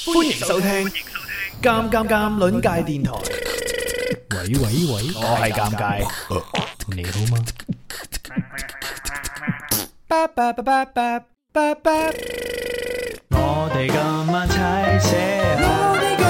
歡迎收聽《尷尷尷》鄰界電台。 喂喂喂， 我係尷尬， 你好嗎？ 我哋今晚齊些牙。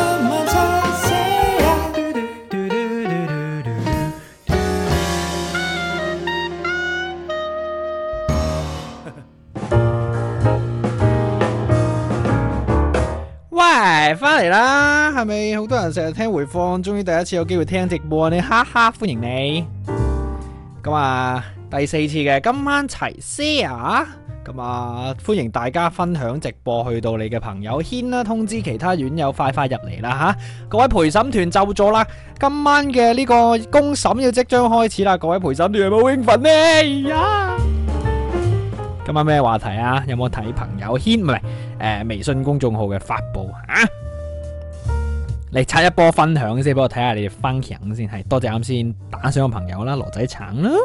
喂，翻嚟啦，係咪好多人成日聽回放，終於第一次有機會聽直播呢？哈哈，歡迎你。咁啊，第四次嘅今晚齊 share，咁啊，歡迎大家分享直播去到你嘅朋友圈啦，通知其他院友快快入嚟啦吓。各位陪審團就座啦，今晚嘅呢個公審要即將開始啦，各位陪審團有冇興奮呢？呀！今晚咩話題啊？有冇睇朋友圈？唔係微信公眾號嘅發布啊？嚟刷一波分享先，俾我睇下你哋分享先。係多謝啱先打賞嘅朋友啦，羅仔橙啦。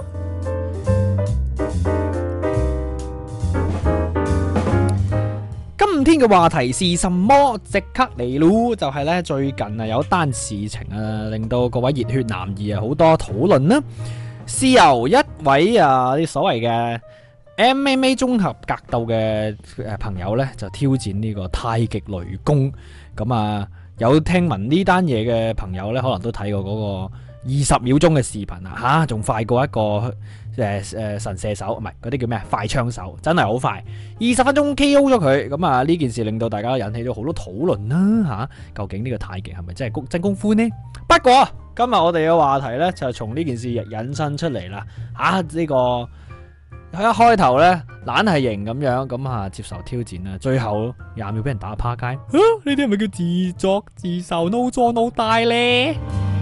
今天嘅話題是什麼？即刻嚟咯！就係呢，最近啊有單事情啊，令到各位熱血男兒啊好多討論啦。是由一位啲所謂嘅MMA 綜合格鬥嘅朋友呢，就挑戰呢個太極雷公。咁啊，有聽聞呢單嘢嘅朋友呢，可能都睇過嗰個20秒鐘嘅視頻啊，吓仲快過一個神射手，唔係嗰啲叫咩快槍手，真係好快，20分鐘 KO 咗佢。咁啊，呢件事令到大家引起咗好多討論啦，吓究竟呢個太極係咪真係真功夫呢？不過今日我哋嘅話題呢，就係從呢件事引申出嚟啦，呢個。佢一開頭咧懶係型咁樣，咁啊接受挑戰啦，最後20秒俾人打趴街，呢啲係咪叫自作自受 no 作 no die 咧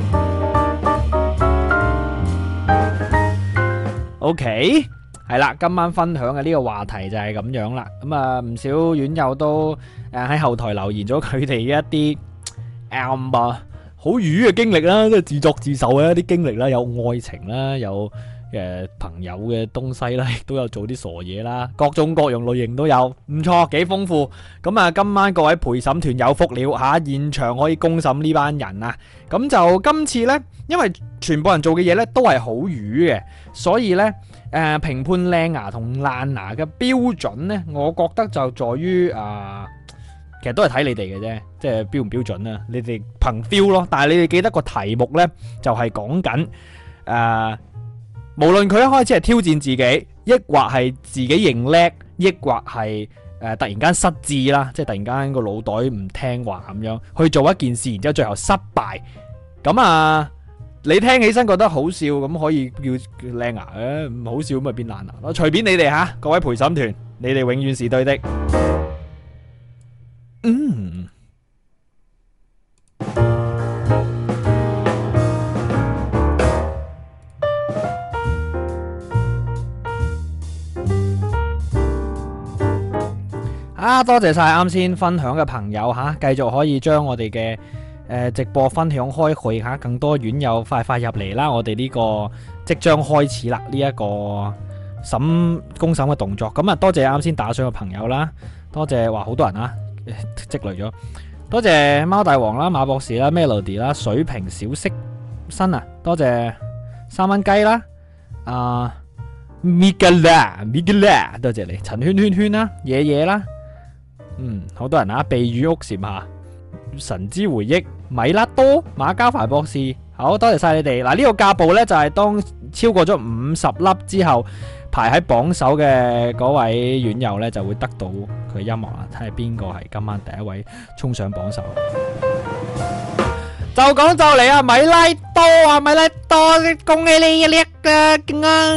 ？OK， 係啦，今晚分享嘅呢個話題就係咁樣啦。咁啊唔少院友都喺後台留言咗佢哋一啲好瘀嘅經歷啦，即係自作自受嘅一啲經歷啦，有愛情啦，有朋友嘅東西啦，亦都有做啲傻嘢啦，各種各樣類型都有，唔錯，幾豐富。咁啊，今晚各位陪審團有福了吓，現場可以公審呢班人啊。咁就今次呢，因為全部人做嘅嘢呢都係好瘀嘅，所以呢，評判靚牙同爛牙嘅標準呢，我覺得就在於其實都係睇你哋嘅啫，即係標唔標準啊？你哋憑 feel 咯。但係你哋記得個題目呢，就係講緊無論佢一開始係挑戰自己，抑或係自己認叻，抑或係突然間失智啦，即係突然間個腦袋唔聽話咁樣去做一件事，然之後最後失敗。咁你聽起身覺得好笑，咁可以叫靚牙嘅，唔好笑咁咪變爛牙咯。隨便你哋吓，各位陪審團，你哋永遠是對的。多謝晒啱先分享嘅朋友吓，繼續可以將我哋嘅直播分享開去吓，更多院友快快入嚟啦！我哋呢個即將開始啦，呢一個公審嘅動作。咁啊，多謝啱先打賞嘅朋友啦，多謝話好多人啊，積累咗，多謝貓大王啦、馬博士啦、Melody 啦、水平小色新啊，多謝3蚊雞啦，Migala，多謝你，陳圈圈圈啦，嘢嘢啦。好多人啊！避雨屋檐下、神之回憶、米拉多、馬交凡博士，好多謝晒你哋。嗱，呢個架步呢，就係當超過咗50粒之後，排喺榜首嘅嗰位院友呢，就會得到佢音樂啦。睇下邊個係今晚第一位衝上榜首。就講就嚟啊！米拉多啊，米拉多，恭喜你叻啊！勁啊！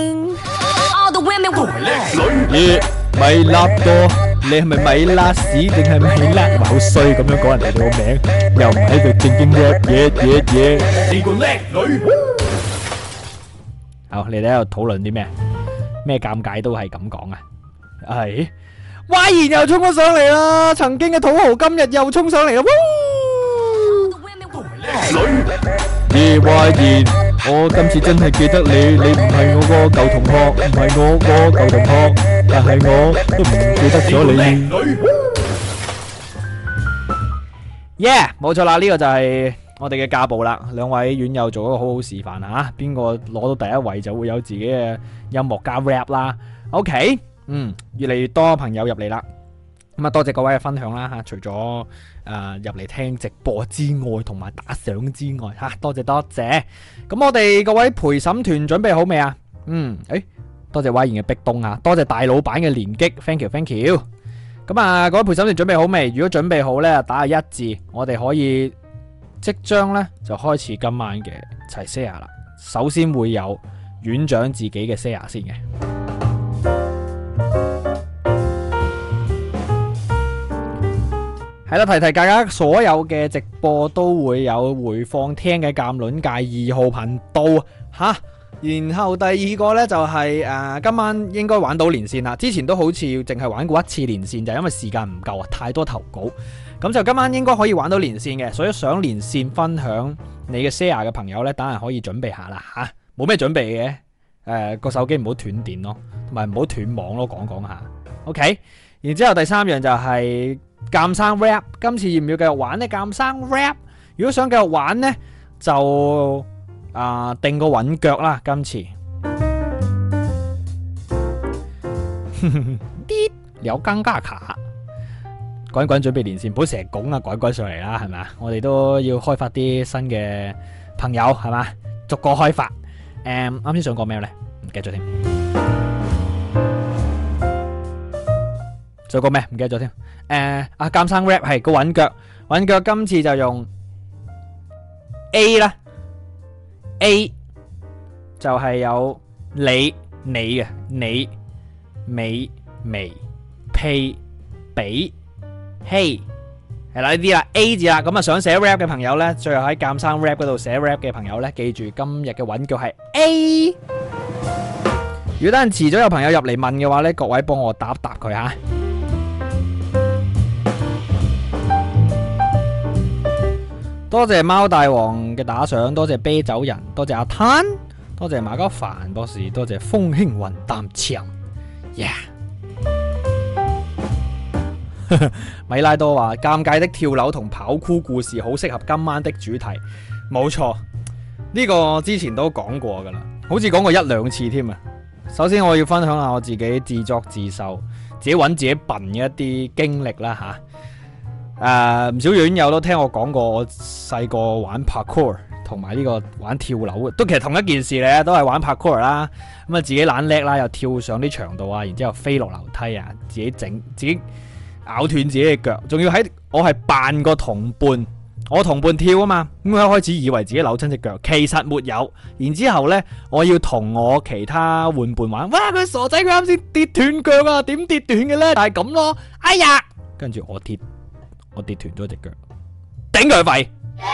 米拉多。你係咪米拉屎定係米拉？好衰咁樣講人哋個名，又唔喺度正經嘢。你個叻女！好，你哋喺度討論啲咩？咩尷尬都係咁講啊！係，Y然又衝咗上嚟啦！曾經嘅土豪今日又衝上嚟啦！Y然，我今次真係記得你，你唔係我個舊同學，唔係我個舊同學，但係我都唔記得咗你。 冇錯啦，呢個就係我哋嘅架步啦。兩位院友做一個好好示範吓，邊個攞到第一位就會有自己嘅音樂加 rap 啦。OK， 越嚟越多朋友入嚟啦。咁啊，多謝各位嘅分享啦吓，除咗入嚟聽直播之外，同埋打賞之外吓，多謝多謝。咁我哋各位陪審團準備好未啊？多謝威賢嘅壁咚啊，多謝大老闆嘅連擊 ，thank you，thank you。咁啊，各位陪審團準備好未？如果準備好呢，打下1字，我哋可以即將呢就開始今晚嘅齊 share 啦。首先會有院長自己嘅 share 先嘅。係啦，提提大家，所有嘅直播都會有回放聽嘅鑑論界2號頻道吓。然後第二個呢，就係今晚應該玩到連線啦。之前都好似淨係玩過1次連線，就係因為時間唔夠啊，太多投稿。咁就今晚應該可以玩到連線嘅，所以想連線分享你嘅 share 嘅朋友呢，等陣可以準備下啦吓。冇咩準備嘅，個手機唔好斷電咯，同埋唔好斷網咯，講下。OK， 然之後第3樣就係鑑生 rap， 今次要唔要繼續玩呢？鑑生 rap， 如果想繼續玩呢，就定個穩腳啦，今次啲有更加卡，滾滾準備連線，唔好成日拱啊滾滾上嚟啦，係咪啊？我哋都要開發啲新嘅朋友，係嘛？逐個開發。啱先想講咩呢？唔記得咗添。想講咩？唔記得咗添。鑑生 rap 係個穩腳，穩腳今次就用 A 啦。A 就係有你嘅你美眉屁比希係啦，呢啲啦 A 字啦。咁啊想寫 rap 嘅朋友呢，最後喺鑑生 rap 嗰度寫 rap 嘅朋友呢，記住今日嘅穩腳係 A。如果等陣遲咗有朋友入嚟問嘅話呢，各位幫我答答佢吓。多謝貓大王嘅打賞，多謝啤酒人，多謝阿灘，多謝馬交凡博士，多謝風輕雲淡長米拉多話尷尬的跳樓同跑酷故事好適合今晚的主題，冇錯，呢個之前都講過噶啦，好似講過1、2次添啊。首先我要分享下我自己自作自受、自己揾自己笨嘅一啲經歷啦吓。唔少院友都聽我講過，我細個玩 parkour 同埋呢個玩跳樓，都其實同一件事咧，都係玩 parkour 啦。咁啊自己懶叻啦，又跳上啲牆度啊，然之後飛落樓梯啊，自己咬斷自己嘅腳，仲要我係扮個同伴，我同伴跳啊嘛，咁我一開始以為自己扭親隻腳，其實沒有。然之後呢，我要同我其他玩伴玩，哇佢傻仔，佢啱先跌斷腳啊，點跌斷嘅呢？但係咁咯，哎呀，跟住我跌斷咗隻腳，頂佢肺。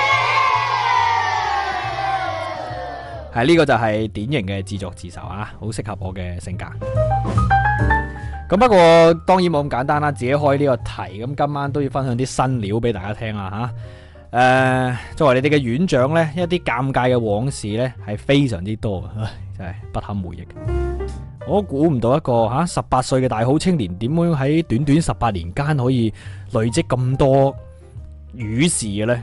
係呢個就係典型嘅自作自受啊，好適合我嘅性格。咁不過當然冇咁簡單啦，自己開呢個題，咁今晚都要分享啲新料俾大家聽啦吓。作為你哋嘅院長呢，一啲尷尬嘅往事呢係非常之多，真係不堪回憶。我估唔到一個18歲嘅大好青年，點樣喺短短18年間可以累積咁多瘀事嘅呢？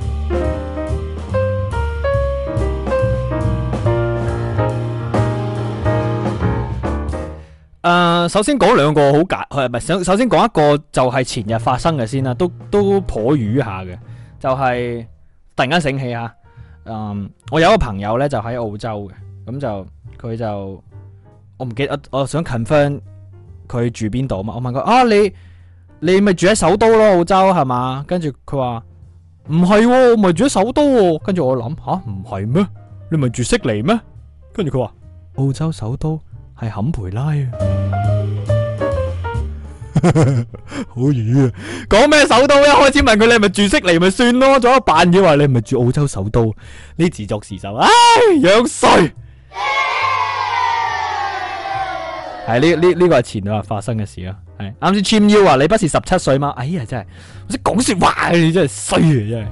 首先講兩個好首先講一個就係前日發生嘅先啦，都頗瘀下嘅，就係突然間醒起吓，我有一個朋友呢，就喺澳洲嘅，咁就佢就我唔記得，我想 confirm 佢住邊度嘛，我問佢你咪住喺首都咯，澳洲係嘛？跟住佢話唔係，我咪住喺首都，跟住我諗唔係咩？你咪住悉尼咩？跟住佢話澳洲首都係坎培拉啊，好瘀啊！講咩首都？一開始問佢你係咪住悉尼咪算咯，仲有扮嘢話你係咪住澳洲首都？呢自作自受，唉，樣衰！係呢個係前日發生嘅事啦。係啱先 Chim U 話你不是17歲嗎？哎呀真係，我識講說話，你真係衰啊真係。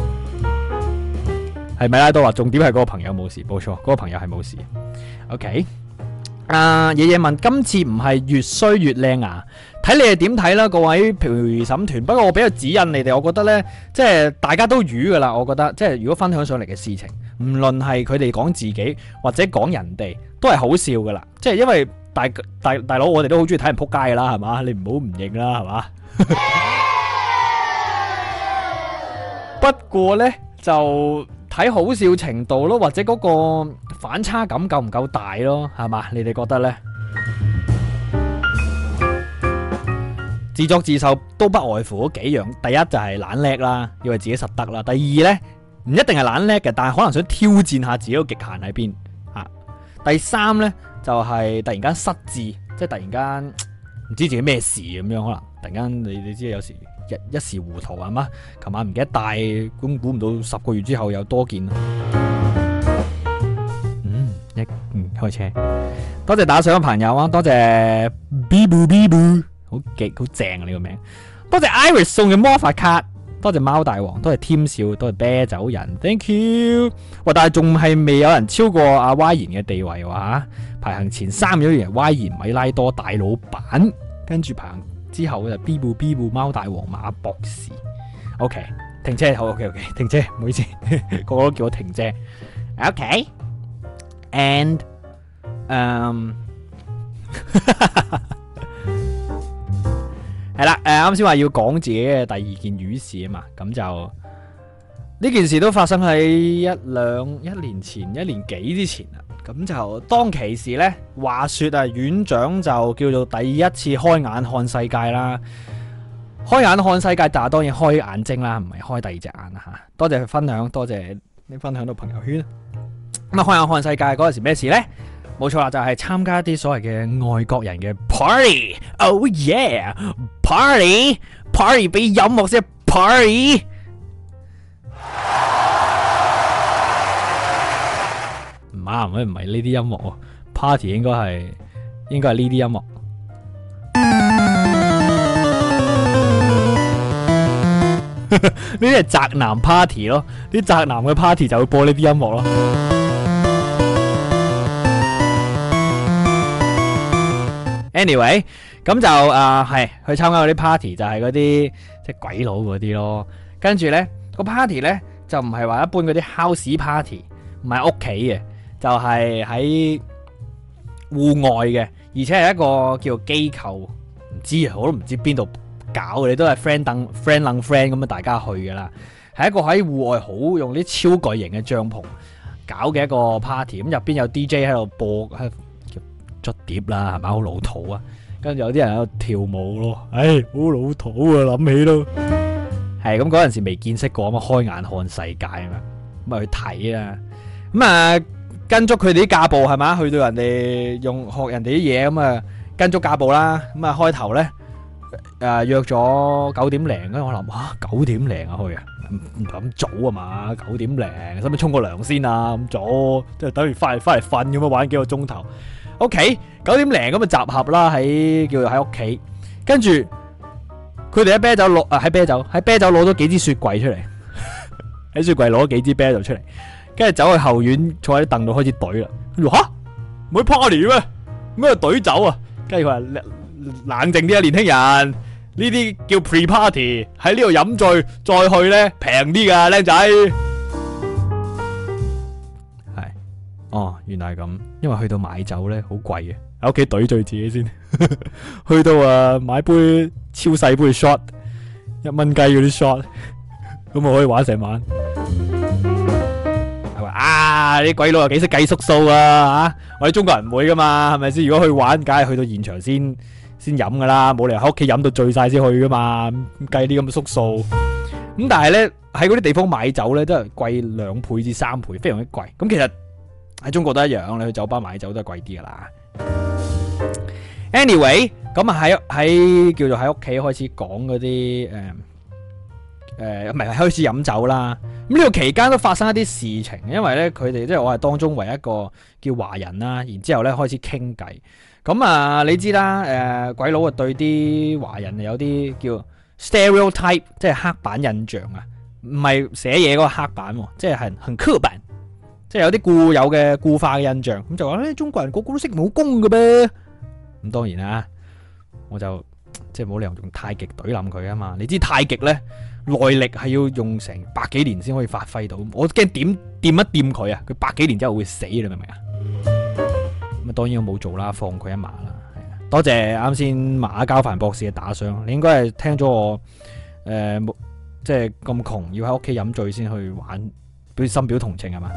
係咪啦？都話重點係嗰個朋友冇事，冇錯，嗰個朋友係冇事。OK。爺爺問今次唔係越衰越靚啊， 睇你哋點睇啦，各位陪審團。不過我比較指引你哋，我覺得呢，即係大家都瘀噶啦。我覺得即係如果分享上嚟嘅事情，唔論係佢哋講自己或者講人哋，都係好笑噶啦。即係因為大佬，我哋都好中意睇人扑街噶啦，係嘛？你唔好唔認啦，係嘛？不過呢，就睇好笑程度咯，或者嗰個反差感夠唔夠大咯，係嘛？你哋覺得呢？自作自受都不外乎嗰幾樣，第一就係懶叻啦，以為自己實得啦。第二呢，唔一定係懶叻嘅，但係可能想挑戰下自己個極限喺邊啊。第三呢，就係突然間失智，即係突然間唔知自己咩事咁樣，可能突然間你知有時一時糊塗係嘛？琴晚唔記得帶，咁估唔到10個月之後有多件。開車，多謝打賞嘅朋友啊，多謝 Bibu。好正啊！呢個名，多謝 Iris 送嘅魔法卡，多謝貓大王，多謝添笑，多謝啤酒人 ，thank you。喂，但係仲係未有人超過阿 Y 賢嘅地位喎吓，排行前3有人 Y 賢、米拉多、大老闆，跟住排行之後就 B 部貓大王、馬博士。OK， 停車，好 OK， 停車，唔好意思，個個都叫我停車。OK，and係啦，啱先話要講自己嘅第2件瘀事啊嘛，咁就呢件事都發生喺一年前1年幾之前啦。咁就當其時呢，話說啊，院長就叫做第一次開眼看世界啦。開眼看世界，但係當然開眼睛啦，唔係開第2隻眼啦吓。多謝佢分享，多謝你分享到朋友圈。咁啊，開眼看世界嗰陣時咩事呢？冇錯啦，就係參加一啲所謂嘅外國人嘅 party。Oh yeah，party 俾音樂先 party。唔啱，唔係呢啲音樂喎 ，party 應該係呢啲音樂。呢啲係宅男 party 咯，啲宅男嘅 party 就會播呢啲音樂咯。Anyway， 咁就係去參加嗰啲 party， 就係嗰啲即係鬼佬嗰啲咯。跟住呢個 party 呢，就唔係話一般嗰啲 house party， 唔係屋企嘅，就係喺戶外嘅，而且係一個叫做機構，唔知我都唔知邊度搞嘅，你都係 friend 等 friend 楞 friend 咁樣大家去噶啦。係一個喺戶外好用啲超巨型嘅帳篷搞嘅一個 party， 咁入邊有 DJ 喺度播捽碟啦，係咪好老土啊？跟住有啲人喺度跳舞咯，唉，好老土啊！諗起都係咁，嗰陣時未見識過，咁開眼看世界啊嘛，咁啊去睇啊，咁啊跟足佢哋啲架步係嘛，去到人哋學人哋啲嘢，咁啊跟足架步啦，咁啊開頭咧約咗9點零，跟住我諗9點零啊去啊，唔咁早啊嘛，9點零，使唔使沖個涼先啊？咁早即係等於翻嚟瞓咁樣玩幾個鐘頭。OK， 9點零咁啊集合啦，叫做喺屋企，跟住佢哋喺啤酒攞咗幾支雪櫃出嚟，喺雪櫃攞咗幾支啤酒出嚟，跟住走去後院坐喺啲凳度開始懟啦。佢話吓，唔係 party 咩？咩懟酒啊？跟住佢話冷靜啲啊，年輕人，呢啲叫 pre party， 喺呢度飲醉再去咧平啲噶，靚仔。哦，原來係咁，因為去到買酒咧好貴嘅，喺屋企懟醉自己先，去到買杯超細杯 shot， 1蚊雞嗰啲 shot， 咁我可以玩成晚。係話啲鬼佬又幾識計縮數啊吓，我哋中國人唔會噶嘛，係咪先？如果去玩，梗係去到現場先飲噶啦，冇理由喺屋企飲到醉晒先去噶嘛，計啲咁嘅縮數。咁但係咧喺嗰啲地方買酒咧，都係貴2倍至3倍，非常之貴。咁其實喺中國都一樣，你去酒吧買酒都係貴啲噶啦。Anyway， 咁啊喺叫做喺屋企開始講嗰啲唔係開始飲酒啦。咁呢個期間都發生一啲事情，因為咧佢哋即係我係當中唯一一個叫華人啦，然之後咧開始傾偈。咁你知啦，鬼佬啊對啲華人有啲叫 stereotype， 即係刻板印象啊，唔係寫嘢嗰個刻板，即係很刻板。即係有啲固有嘅固化嘅印象，咁就話中國人個個都識武功嘅噃。咁當然啦，我就即係冇理由用太極懟冧佢啊嘛。你知太極咧耐力係要用成百幾年先可以發揮到，我驚掂一掂佢啊，佢百幾年之後會死，你明唔明啊？咁啊當然我冇做啦，放佢一馬啦。係啊，多謝啱先馬交凡博士嘅打賞，你應該係聽咗我即係咁窮要喺屋企飲醉先去玩，深表同情係嘛？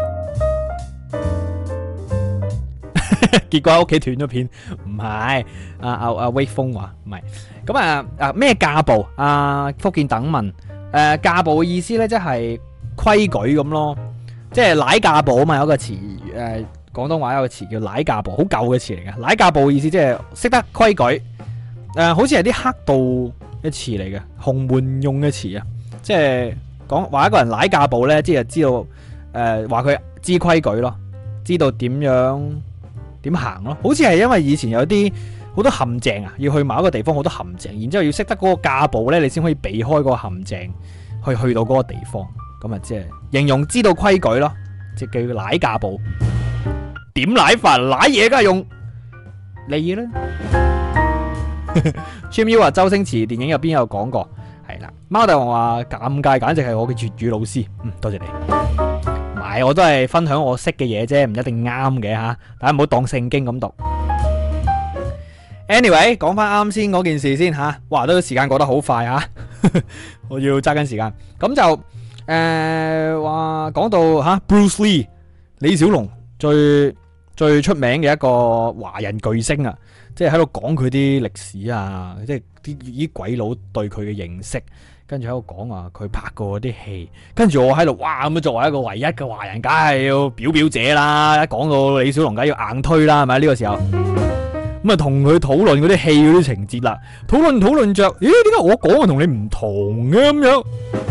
結果喺屋企斷咗片，唔係阿威風話唔係，咁咩架步？福建等問架步嘅意思咧，即係規矩咁咯，即係乃架步啊嘛，有個詞廣東話有個詞叫乃架步，好舊嘅詞嚟嘅。乃架步嘅意思即係識得規矩，好似係啲黑道嘅詞嚟嘅，洪門用嘅詞啊，即係講話一個人乃架步咧，即係知道話佢知規矩咯，知道點樣點行咯，好似係因為以前有啲好多陷阱啊，要去某一個地方好多陷阱，然之後要識得嗰個架步咧，你先可以避開嗰個陷阱，去到嗰個地方。咁啊，即係形容知道規矩咯，即係叫乃架步。點乃法？乃嘢梗係用你啦。Jimmy 話周星馳電影入邊有講過，係啦。貓大王話尷尬，簡直係我嘅粵語老師。多謝你。我都係分享我識嘅嘢啫，唔一定啱嘅吓，大家唔好當聖經咁讀。Anyway， 講翻啱先嗰件事先吓，哇，都時間過得好快吓，我要揸緊時間。咁就話講到吓 Bruce Lee 李小龍最出名嘅一個華人巨星啊，即係喺度講佢啲歷史啊，即係啲鬼佬對佢嘅認識。跟住喺度講話佢拍過啲戲，跟住我喺度哇，咁作為一個唯一嘅華人，梗係要表表姐啦！一講到李小龍，梗係要硬推啦，係咪呢個時候？咁啊，同佢討論嗰啲戲嗰啲情節啦，討論着，咦？點解我講嘅同你唔同嘅咁樣？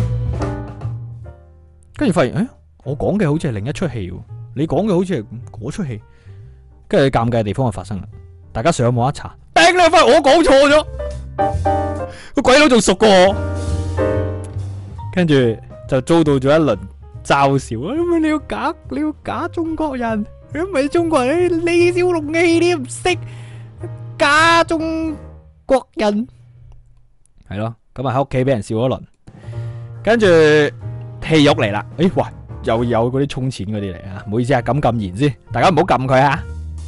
跟住發現，我講嘅好似係另一出戲，你講嘅好似係嗰出戲。跟住尷尬嘅地方就發生啦，大家上網一查，頂你發現我講錯咗，個鬼佬仲熟過我。跟住就遭到咗一輪嘲笑，你要假中國人，你唔係中國人，李小龍嘅戲你唔識，假中國人係咯，咁啊喺屋企俾人笑咗一輪，跟住戲肉嚟啦，喂，又有嗰啲充錢嗰啲嚟啊，唔好意思啊，撳言先，大家唔好撳佢啊。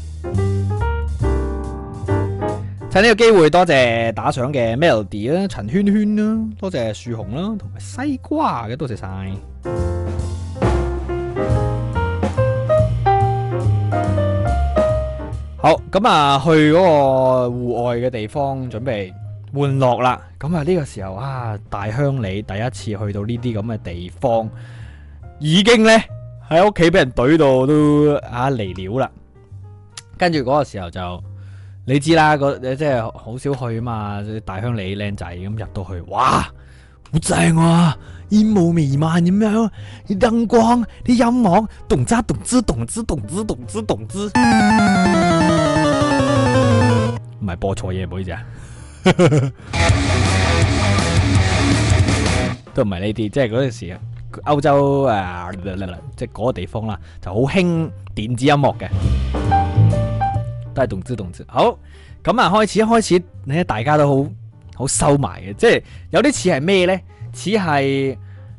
趁呢個機會，多謝打賞嘅 Melody 啦、陳圈圈啦，多謝樹熊啦，同埋西瓜嘅，多謝晒。好，咁啊，去嗰個戶外嘅地方準備玩樂啦。咁啊，呢個時候啊，大鄉里第一次去到呢啲咁嘅地方，已經呢喺屋企俾人懟到都嚟料啦。跟住嗰個時候就。你知啦，即係好少去啊嘛，大鄉里靚仔咁入到去，哇，好正啊，煙霧彌漫咁樣，啲燈光，啲音樂，動之動之動之動之動之動之，唔係播錯嘢，唔好意思啊，都唔係呢啲，即係嗰陣時歐洲即係嗰個地方啦，就好興電子音樂嘅。都係動之好，咁啊開始咧，大家都好收埋嘅，即係有啲似係咩咧？似係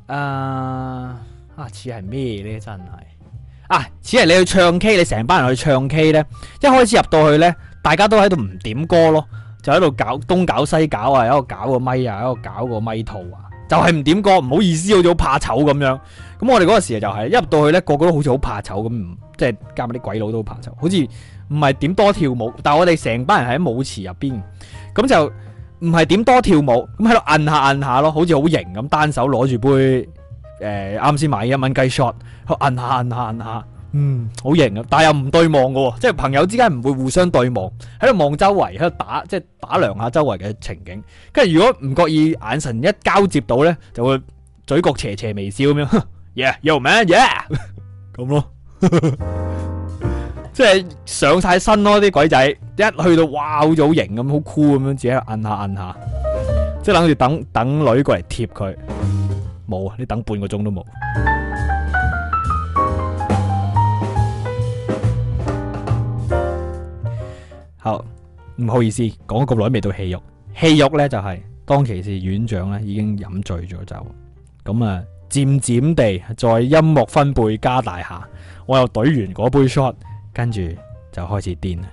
似係咩咧？真係似係你去唱 K， 你成班人去唱 K 咧，一開始入到去咧，大家都喺度唔點歌咯，就喺度搞東搞西搞啊，喺度搞個咪啊，喺度搞個咪套啊，就係唔點歌，唔好意思，好似好怕醜咁樣。咁我哋嗰個時就係一入到去咧，個個都好似好怕醜咁，即係加埋啲鬼佬都好怕醜，好似唔係點多跳舞，但係我哋成班人喺舞池入邊，咁就唔係點多跳舞，咁喺度摁下咯，好似好型咁，單手攞住杯啱先買1蚊雞 shot， 摁下，好型啊！但係又唔對望嘅，即係朋友之間唔會互相對望，喺度望周圍，喺度即係打量下周圍嘅情景。跟住如果唔覺意眼神一交接到咧，就會嘴角斜斜微笑咁樣，yeah，yo man，yeah， 咁咯。即係上晒身咯，啲鬼仔一去到，哇，好似好型咁，好酷咁樣，自己喺度摁下，即係諗住等女過嚟貼佢，冇啊！你等半個鐘都冇。好，唔好意思，講咗咁耐未到戲肉， 戲肉呢，就係、當其時院長呢已經飲醉咗酒，咁啊漸漸地在音樂分貝加大下，我又懟完嗰杯 shot， 跟住就開始癲啦。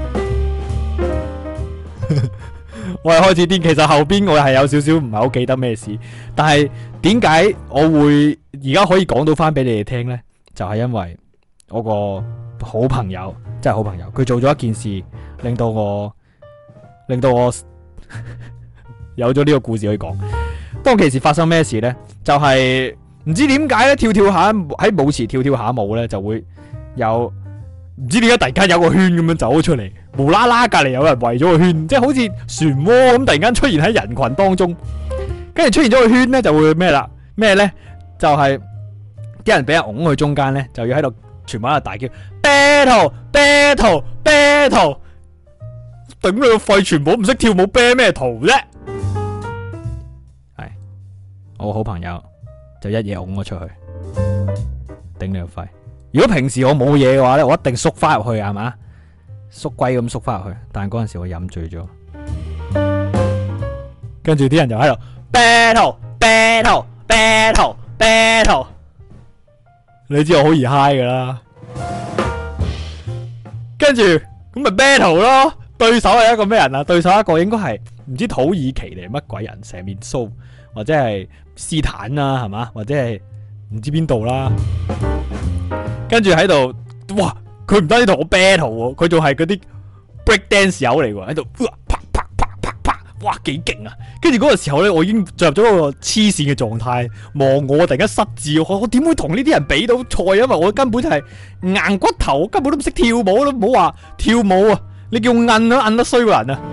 我係開始癲，其實後邊我係有少少唔係好記得咩事，但係點解我會而家可以講到翻俾你哋聽呢？就係因為我個好朋友，真係好朋友，佢做咗一件事，令到我有咗呢個故事可以講。當其時發生咩事呢？就係唔知點解咧，跳下喺舞池跳下舞呢，就會有唔知點解突然間有個圈咁樣走咗出嚟，無啦啦隔籬有人圍咗個圈，即係好似漩渦咁突然間出現喺人群當中，跟住出現咗個圈呢，就會咩啦？咩呢？就係啲人俾人拱去中間呢，就要喺度全部喺度大叫 battle battle battle， 頂你個肺！全部唔識跳舞，battle 咩圖啫？係我好朋友就一嘢拱咗出去，頂你個肺！如果平時我冇嘢嘅話咧，我一定縮翻入去，係嘛？縮龜咁縮翻入去。但係嗰陣時我飲醉咗，跟住啲人就喺度 battle battle battle battle， 你知我好易 high 噶啦。跟住咁咪 battle 咯，對手係一個咩人啊？對手一個應該係唔知土耳其定乜鬼人，成面鬚，或者係斯坦啦，係嘛？或者係唔知邊度啦。跟住喺度，哇！佢唔單止同我 battle 喎，佢仲係嗰啲 break dance 友嚟喎，喺度啪啪啪啪啪，哇幾勁啊！跟住嗰個時候咧，我已經進入咗個黐線嘅狀態，望我突然間失智，我點會同呢啲人比到賽？因為我根本就係硬骨頭，根本都唔識跳舞，都唔好話跳舞啊！你叫我摁都摁得衰個人啊！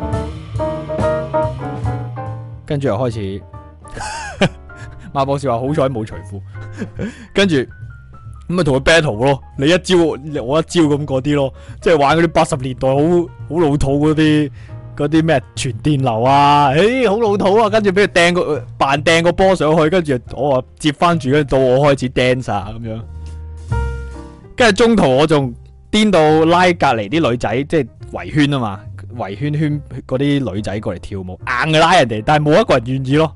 跟住又開始馬博士話好彩冇除褲，跟住。咁咪同佢 battle 咯，你一招我一招咁嗰啲咯，即係玩嗰啲80年代好老土嗰啲咩傳電流啊，好老土啊！跟住俾佢扮掟個波上去，跟住我話接翻住，跟住到我開始 dance 啊咁樣。跟住中途我仲癲到拉隔籬啲女仔，即係圍圈啊嘛，圍圈嗰啲女仔過嚟跳舞，硬嘅拉人哋，但係冇一個人願意咯。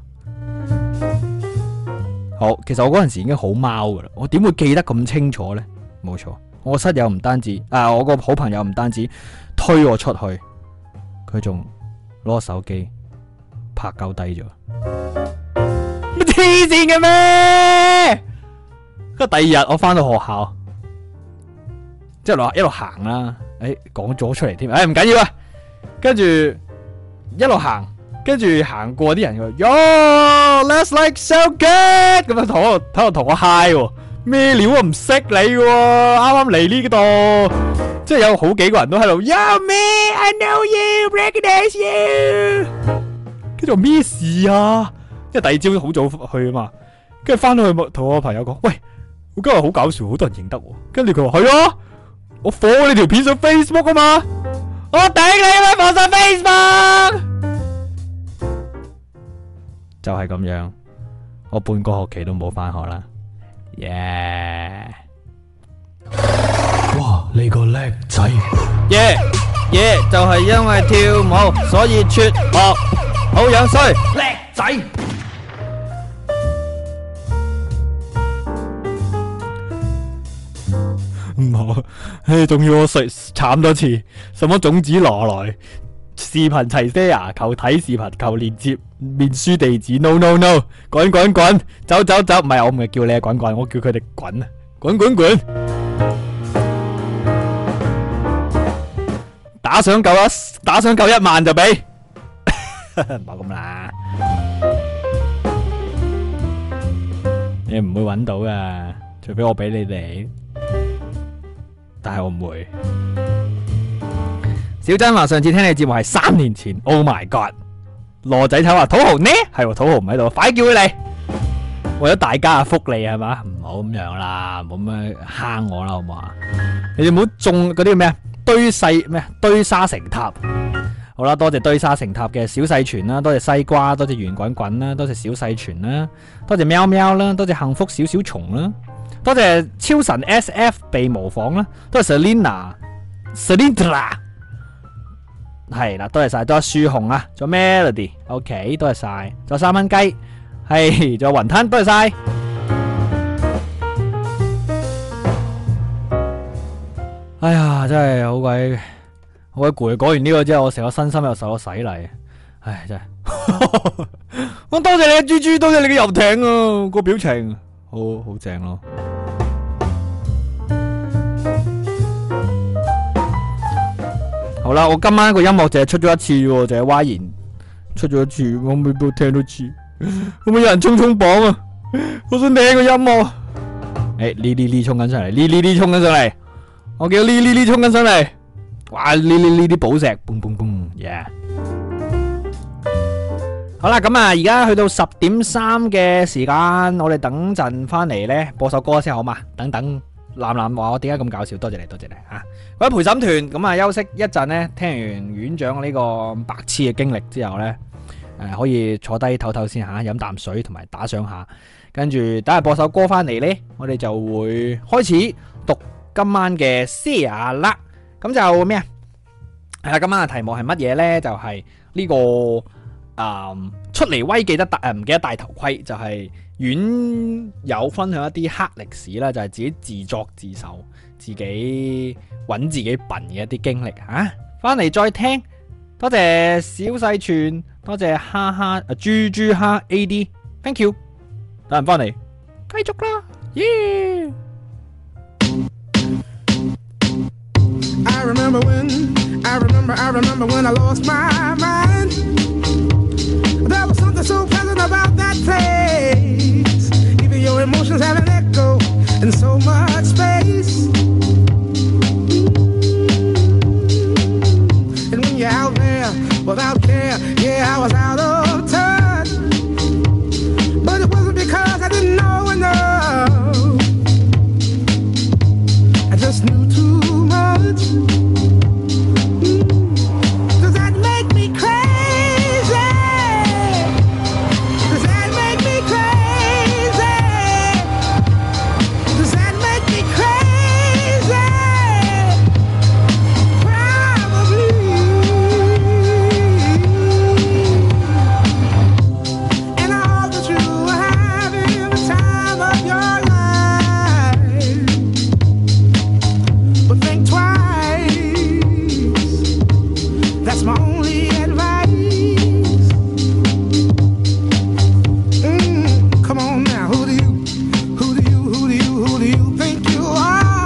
好，其實我嗰陣時已經好貓噶啦，我點會記得咁清楚呢？冇錯，我室友唔單止，我個好朋友唔單止推我出去，佢仲攞手機拍鳩低咗，乜黐線嘅咩？跟住第二日我翻到學校，即係一路行啦，講咗出嚟添，唔緊要啊，跟住一路行。跟住行過啲人佢 Yo，let's like so good 咁樣喺度同我 high 喎，咩料啊？唔識你喎，啱啱嚟呢度，即係有好幾個人都喺度 Yo me，I know you，recognize you。跟住咩事啊？因為第二朝好早去啊嘛，跟住翻到去同我朋友講，喂，我今日好搞笑，好多人認得我。跟住佢話係啊，我放你條片上 Facebook 啊嘛，我頂你啦，放上 Facebook。就係咁樣，我半個學期都冇返學啦。耶！ 哇，你個叻仔！ 耶！就係因為跳舞，所以輟學，好樣衰，叻仔！唔好，仲要我慘多次，什麼種子拿來？視頻齊些牙，求睇視頻，求連接面書地址 ，no， 滾，走，唔係我唔係叫你滾，我叫佢哋滾啊，滾，打賞夠1萬就俾，唔好咁啦，你唔會搵到噶，除非我俾你哋，但係我唔會。小珍話上次聽你節目係3年前 ，Oh my God！ 羅仔頭話土豪呢？係喎，土豪唔喺度，快叫佢嚟！為咗大家嘅福利係嘛，唔好咁樣啦，唔好咁樣蝦我啦，好唔好啊？你哋唔好種嗰啲咩堆沙成塔。好啦，多謝堆沙成塔嘅小細全啦，多謝西瓜，多謝圓滾滾啦，多謝小細全啦，多謝喵喵啦，多謝幸福小蟲啦，多謝超神 SF 被模仿啦，多謝 Selina。 係啦，多謝晒，仲有樹紅啊，仲有 Melody，OK，多謝晒，仲有3蚊雞，係，仲有雲吞，多謝晒。哎呀，真係好鬼攰，講完呢個之後，我成個身心又受咗洗禮，唉，真係。我多謝你嘅豬豬，多謝你嘅遊艇啊，個表情好正咯。好啦，我今晚個音樂淨係出咗一次喎，淨係歪言出咗一次，我未必聽到次。可唔可以有人衝榜啊？我想聽個音樂。呢衝緊上嚟，呢衝緊上嚟。我見到呢衝緊上嚟。哇！呢啲寶石，嘣嘣嘣 ，yeah。好啦，咁啊，而家去到10:03嘅時間，我哋等陣翻嚟呢，播首歌先好嘛？等藍藍話我點解咁搞笑？多謝你吓。各位陪審團，咁啊休息一陣呢，聽完院長呢個白痴嘅經歷之後呢，可以坐低唞唞先吓，飲啖水同埋打賞下，跟住等下播首歌翻嚟呢，我哋就會開始讀今晚嘅 share 啦。咁就咩啊？係啦，今晚嘅題目係乜嘢呢？就係呢個出嚟威記得唔記得戴頭盔，就係院友分享一啲黑歷史啦，就係自己自作自受，自己揾自己笨嘅一啲經歷吓。翻嚟再聽，多謝小細全，多謝哈哈豬豬哈 AD，thank you。等人翻嚟，繼續啦，耶！ I remember when I lost my mind. There was something so pleasant about that place. Even your emotions have an echo in so much space. And when you're out there without care, yeah, I was out of touch. But it wasn't because I didn't know enough. I just knew too much. Does that make me crazy? Does that make me crazy? Does that make me crazy? Probably. And I hope that you are having the time of your life. But think twice. That's my only advice. Come on now, who do you think you are?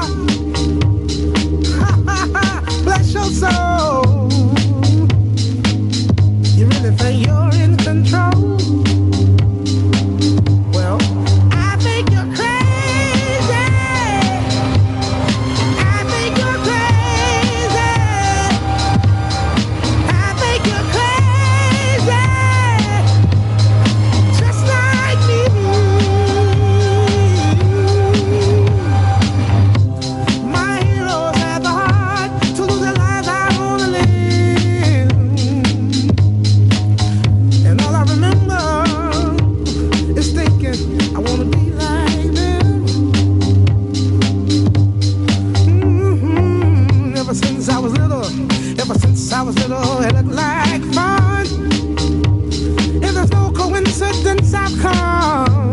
Bless your soul. You really think you're in control? Well, I think you're crazy. I think you're crazy. I think you're crazy. Just like me. My heroes had the heart to lose their lives. I wanna live. And all I remember is thinking I wanna be like them. Ever since I was little, it looked like fun. If there's no coincidence, I've come.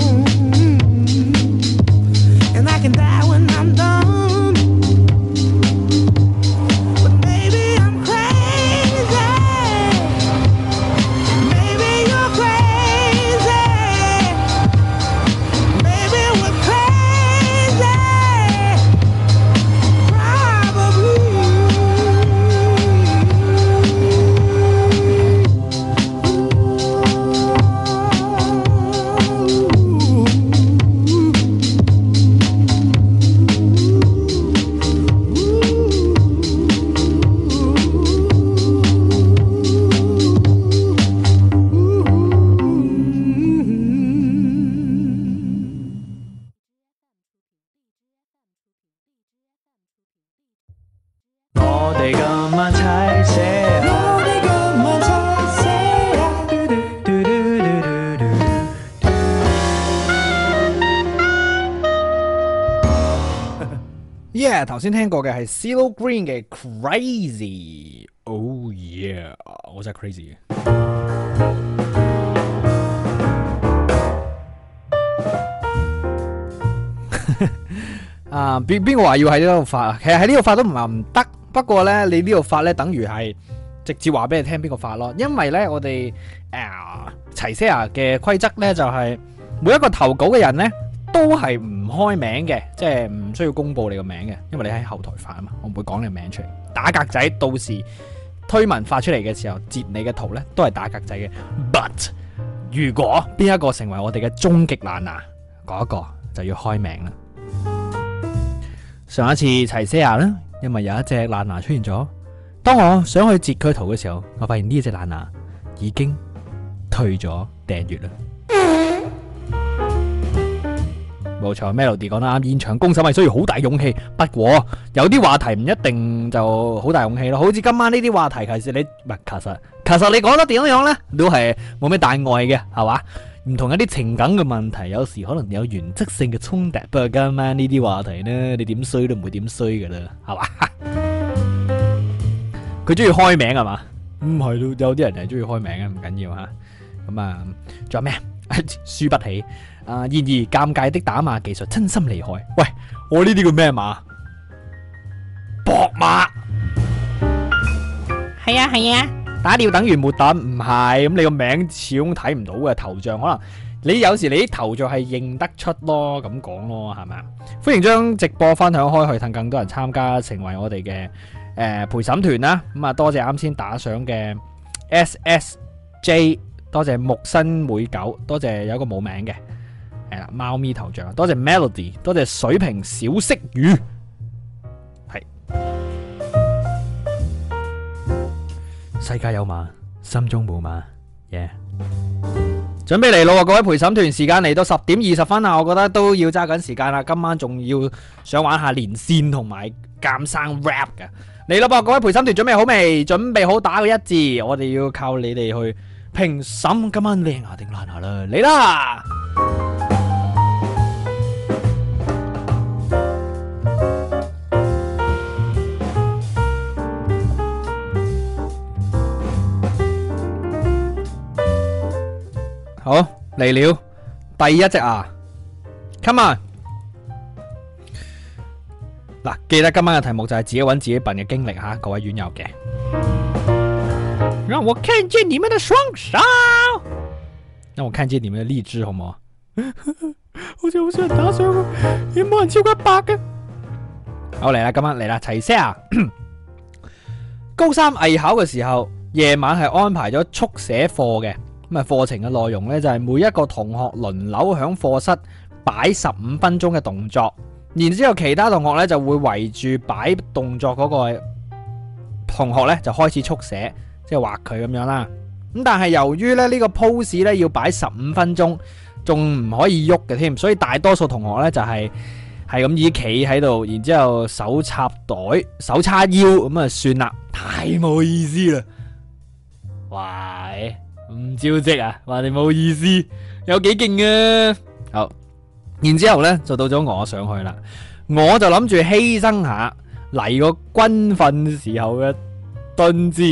And I can die when I'm done. But maybe I'm crazy. Maybe you're crazy. Maybe we're crazy. Probably. Yeah， 頭先聽過嘅係 CeeLo Green 嘅 Crazy。 Oh yeah， 我真係 crazy 嘅。啊，邊個話要喺呢度發啊？其實喺呢度發都唔係唔得，不過咧你呢度發咧，等於係直接話俾你聽邊個發咯。因為咧我哋齊些牙嘅規則咧就係每一個投稿嘅人咧都係唔開名嘅，即係唔需要公布你個名嘅，因為你喺後台發啊嘛，我唔會講你個名出嚟。打格仔，到時推文發出嚟嘅時候截你嘅圖咧都係打格仔嘅。But 如果邊一個成為我哋嘅終極爛牙，嗰一個就要開名啦。上一次齊些牙啦，因為有一隻爛牙出現咗，當我想去截佢圖嘅時候，我發現呢隻爛牙已經退咗訂閱啦。冇錯 ，Melody 講得啱，現場公審係需要好大勇氣。不過有啲話題唔一定就好大勇氣咯，好似今晚呢啲話題，其實你唔係其實你講得點樣咧，都係冇咩大礙嘅，係嘛？唔同一啲情感嘅問題，有時可能有原則性嘅衝突。不過今晚呢啲話題呢，你點衰都唔會點衰噶啦，係嘛？佢中意開名係嘛？唔係咯，有啲人係中意開名嘅，唔緊要吓。咁啊，仲有咩？輸不起。然而尷尬的打碼技術真心厲害。喂，我呢啲叫咩碼？博碼。係啊，打掉等於沒等，唔係。咁你個名始終睇唔到嘅頭像，可能你有時你啲頭像係認得出咯，咁講咯，係咪啊？歡迎將直播分享開去，等更多人參加，成為我哋嘅陪審團啦。咁啊，多謝啱先打賞嘅 SSJ， 多謝木新每九，多謝有一個冇名嘅。係啦，貓咪頭像，多謝 Melody， 多謝水瓶小色魚，係世界有馬，心中冇馬，耶、yeah！準備嚟咯，各位陪審團，時間嚟到10點20分啦，我覺得都要揸緊時間啦。今晚仲要想玩下連線同埋鑑生 rap 嘅，嚟咯噃，各位陪審團準備好未？準備好打個一字，我哋要靠你哋去評審今晚靚牙定爛牙啦，嚟啦！好嚟了，第一隻牙 ，come on！ 嗱，記得今晚嘅題目就係自己揾自己笨嘅經歷吓，各位院友嘅。讓我看見你們的雙手，讓我看見你們的荔枝，好唔好啊？好似好少人打賞啊，有冇人超過100嘅？好嚟啦，今晚嚟啦，齊些牙！高3藝考嘅時候，夜晚係安排咗速寫課嘅。咁啊，課程嘅內容呢，就係每一個同學輪流響課室擺15分鐘嘅動作，然之後其他同學呢就會圍住擺動作嗰個同學呢就開始速寫，即係畫佢咁樣啦。咁但係由於呢個 pose 呢要擺15分鐘，仲唔可以喐嘅添，所以大多數同學呢就係咁依企喺度，然之後手插袋、手叉腰咁啊，算啦，太冇意思啦。喂！唔招積啊，話你冇意思，有幾勁啊！好，然之後咧就到咗我上去啦，我就諗住犧牲下嚟個軍訓時候嘅蹲姿，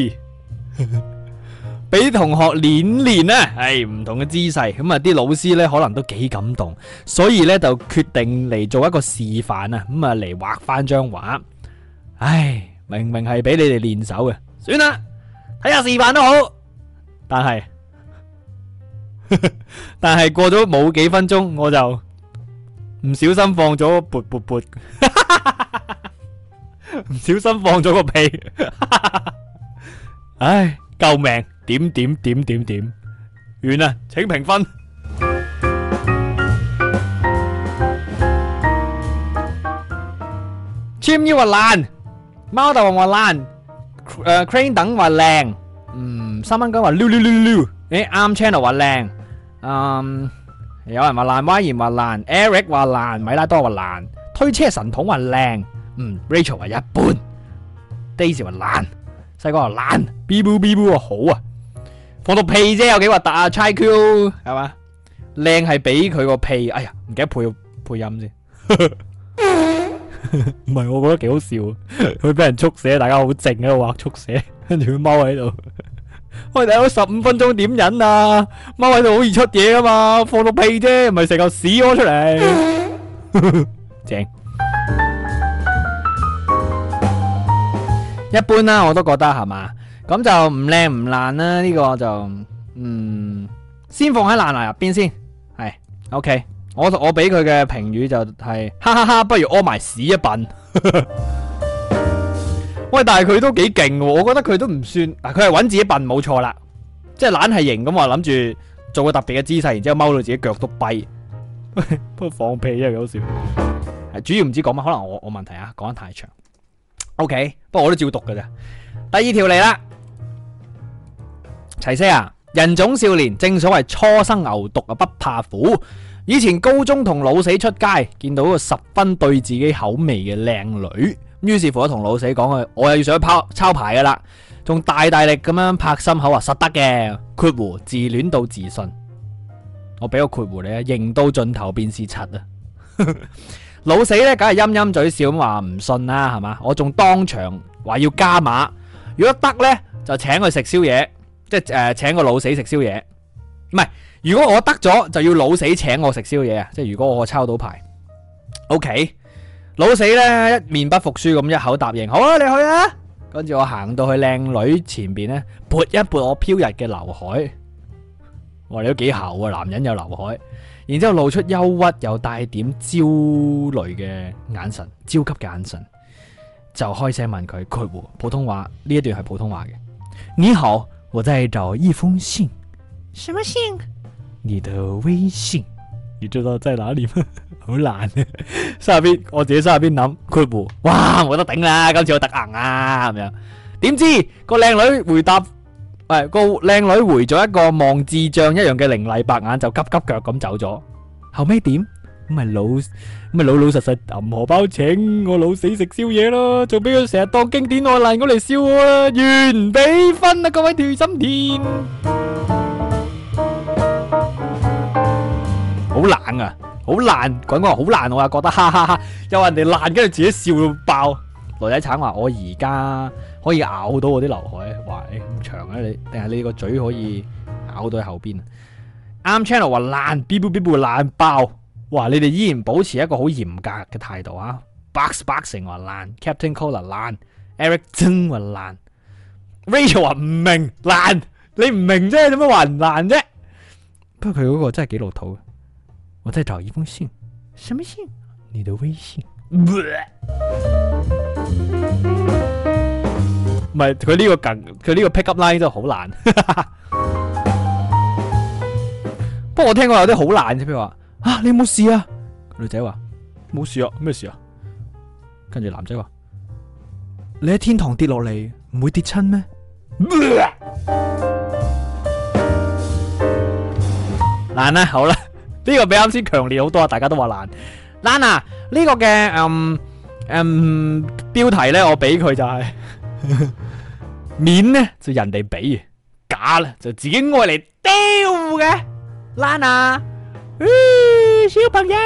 俾同學練練啊！係唔同嘅姿勢，咁啊啲老師咧可能都幾感動，所以咧就決定嚟做一個示範啊！咁啊嚟畫翻張畫，唉，明明係俾你哋練手嘅，算啦，睇下示範都好。但係過咗冇幾分鐘，我就唔小心放咗撥，唔小心放咗個屁，唉，救命！點，完啦，請評分。簽腰話爛，貓大王話爛，Crane 等話靚。3蚊雞話溜，啱 channel 話靚，有人話爛，歪言話爛 ，Eric 話爛，米拉多話爛，推車神童話靚，Rachel 話一般 ，Daisy 話爛，細哥話爛 ，Bibu 話好啊，放到屁啫，有幾核突啊 ，Chai Q 係嘛，靚係俾佢個屁，哎呀，唔記得配音先，唔係，我覺得幾好笑，佢俾人速寫，大家好靜喺度畫速寫。 跟住佢踎喺度。喂，大佬15分鐘點忍啊？踎喺度好易出嘢噶嘛，放到屁啫，唔係成嚿屎屙出嚟。正。一般啦，我都覺得係嘛，咁就唔靚唔爛啦，呢個就先放喺爛泥入邊先，係 OK。我俾佢嘅評語就係哈哈哈，不如屙埋屎一笨。喂，但係佢都幾勁喎，我覺得佢都唔算，佢係揾自己笨冇錯啦，即係懶係型咁話諗住做個特別嘅姿勢，然之後踎到自己腳都跛。不過放屁真係好笑，係主要唔知講乜，可能我問題啊，講得太長。OK， 不過我都照讀㗎咋。第二條嚟啦，齊些啊，人總少年，正所謂初生牛犢啊不怕虎。以前高中同老死出街，見到個十分對自己口味嘅靚女。於是乎我同老死講我又要上去抄牌噶啦，仲大力咁樣拍心口話實得嘅。括弧自戀到自信，我俾個括弧你啊，型到盡頭便是柒啊！老死咧，梗係陰陰嘴笑咁話唔信啦，係嘛？我仲當場話要加碼，如果得咧就請佢食宵夜，即係請個老死食宵夜。唔係，如果我得咗就要老死請我食宵夜啊！即係如果我抄到牌 ，OK。老死咧一面不服輸咁一口答應，好啊，你去啊！跟住我行到去靚女前邊咧，撥一撥我飄逸嘅劉海，哇，你都幾姣啊！男人有劉海，然之後露出憂鬱又帶點焦慮嘅眼神，焦急嘅眼神，就開聲問佢括弧普通話，呢一段係普通話嘅。你好，我在找一封信。什麼信？你的微信。你知道在哪裏嗎？好難啊！心入邊，我自己心入邊諗括弧，哇，冇得頂啦！今次我特硬啊，咁樣。點知個靚女回答，個靚女回咗一個望智障一樣嘅凌厲白眼，就急急腳咁走咗。後尾點？咁咪老實實揼荷包請我老死食宵夜咯，仲俾佢成日當經典愛爛我嚟笑我啦，完比分啊！各位條心田。好冷啊，好爛，講話好爛，我又覺得哈哈哈，有人哋爛，跟住自己笑到爆。女仔橙話我而家可以咬到我啲劉海，哇，咁長啊你，定係你個嘴可以咬到喺後邊？啱 channel 話爛 ，B B B 爛爆，哇！你哋依然保持一個好嚴格嘅態度啊。Box Boxing 話爛 ，Captain Cola 爛 ，Eric 真話爛 ，Rachel 話唔明爛，你唔明啫，點解話唔爛啫？不過佢嗰個真係幾老土。我再找一封信，什麼信？你的微信。唔係佢呢個梗，佢呢個 pick up line 真係好爛。不過我聽過有啲好爛啫，譬如話啊，你有冇事啊？女仔話冇事啊，咩事啊？跟住男仔話你喺天堂跌落嚟唔會跌親咩？爛啦，好啦。呢個比啱先強烈好多啊！大家都話爛爛啊！呢個嘅標題咧，我俾佢就係面咧就人哋俾，假啦就自己愛嚟丟嘅爛啊！小朋友，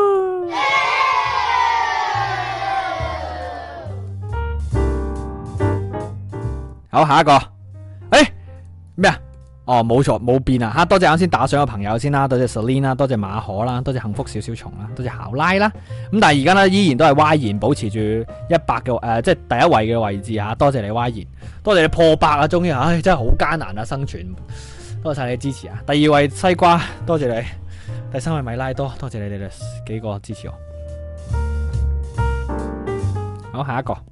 好下一個，咩啊？哦，冇錯，冇變啊！多謝啱先打賞嘅朋友先啦，多謝 Selina 啦，多謝馬可啦，多謝幸福小小蟲啦，多謝考拉啦。咁但係而家咧依然都係Y然保持住100嘅即係第一位嘅位置吓，多謝你Y然，多謝你破百啊！終於，真係好艱難啊生存，多謝晒你支持啊！第2位西瓜，多謝你；第3位米拉多，多謝你哋幾個支持我。好，下一個，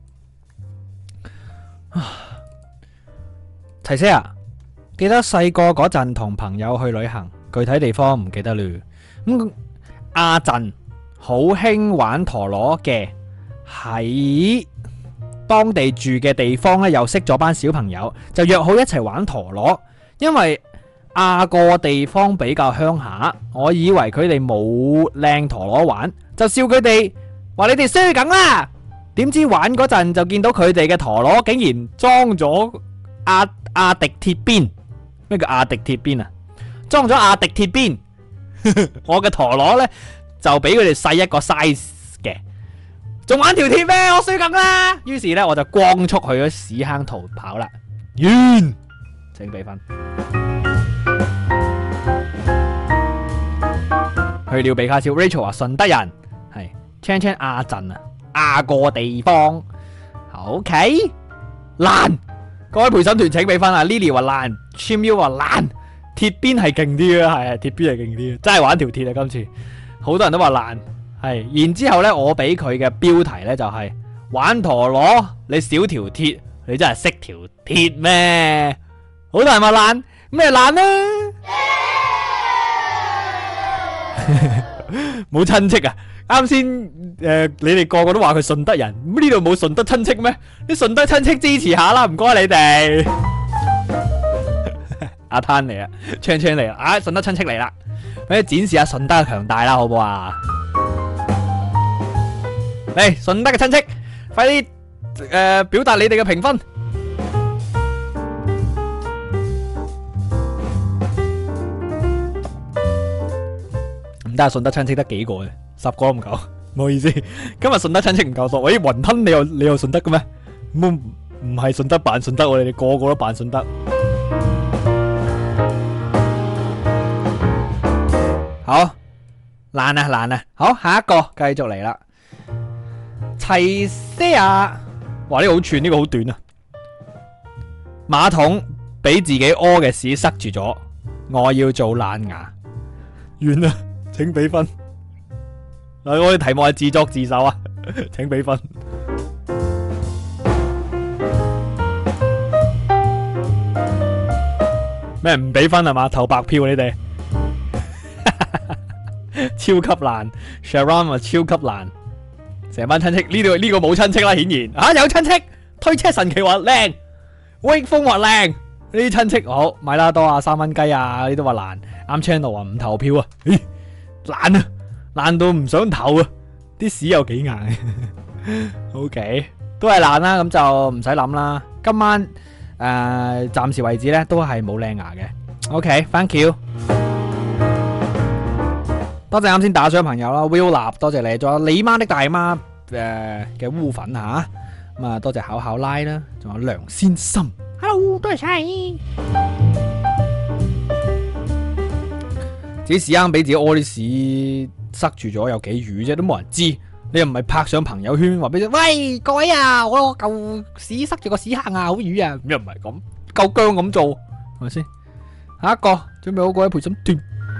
齊些啊！記得細個嗰陣同朋友去旅行，具體地方唔記得了。咁阿陣好興玩陀螺嘅，喺當地住嘅地方咧，又識咗班小朋友，就約好一齊玩陀螺。因為亞個地方比較鄉下，我以為佢哋冇靚陀螺玩，就笑佢哋話你哋衰梗啦。點知玩嗰陣就見到佢哋嘅陀螺竟然裝咗阿迪鐵邊。咩叫阿迪鐵邊啊？裝咗阿迪鐵邊，我嘅陀螺呢，就比佢哋細一個 size 嘅，仲玩條鐵咩？我衰梗啦！於是呢，我就光速去咗屎坑逃跑啦。 完，請俾分。去了比卡超 ，Rachel 話順德人係 Chan 亞鎮啊，亞個地方。OK， 爛，各位陪審團請俾分啊 ！Lily 話爛 ，Chimyu 話爛，鐵邊係勁啲啊，係啊，鐵邊係勁啲，真係玩條鐵啊！今次好多人都話爛，係。然之後咧，我俾佢嘅標題咧就係、玩陀螺，你少條鐵，你真係識條鐵咩？好多人話爛，咩爛呢？冇親戚啊！啱先你哋個個都話佢順德人，咁呢度冇順德親戚咩？啲順德親戚支持下啦，唔該你哋。阿灘嚟啊，唱嚟啦，啊順德親戚嚟啦，俾展示下順德嘅強大啦，好唔好啊？嚟順德嘅親戚，快啲表達你哋嘅評分。唔得，順德親戚得幾個嘅，10個都唔夠，唔好意思。今日順德親戚唔夠多。喂，雲吞你又順德嘅咩？唔係順德扮順德，我哋個個都扮順德。好爛啊！好，下一個繼續嚟啦。齊些牙，哇呢個好串，呢個好短啊。馬桶俾自己屙嘅屎塞住咗，我要做爛牙。完啦。請俾分。我哋題目係自作自受啊，請俾分。咩唔俾分係嘛？投白票你哋。超級爛 ，Sharon 話超級爛，成班親戚呢個冇親戚啦，顯然有親戚。推車神奇話靚，威風話靚，呢啲親戚好，米拉多啊，3蚊雞啊，呢啲都話爛。啱 channel 話唔投票啊。爛啊，爛到唔想投啊！啲屎有幾硬？OK， 都係爛啦，咁就唔使諗啦。今晚暫時為止咧，都係冇靚牙嘅。OK，thank you，多謝啱先打賞朋友啦 ，Will 立，多謝你，仲有你媽的大媽嘅烏粉吓，咁啊多謝考考拉啦，仲有梁先心 ，Hello， 多謝晒。自己屎坑俾自己屙啲屎塞住咗，有幾瘀啫，都冇人知。你又唔係拍上朋友圈話俾你，喂各位啊，我嚿屎塞住個屎坑啊，好瘀啊，又唔係咁，夠薑咁做，係咪先？下一個準備好各位陪審團，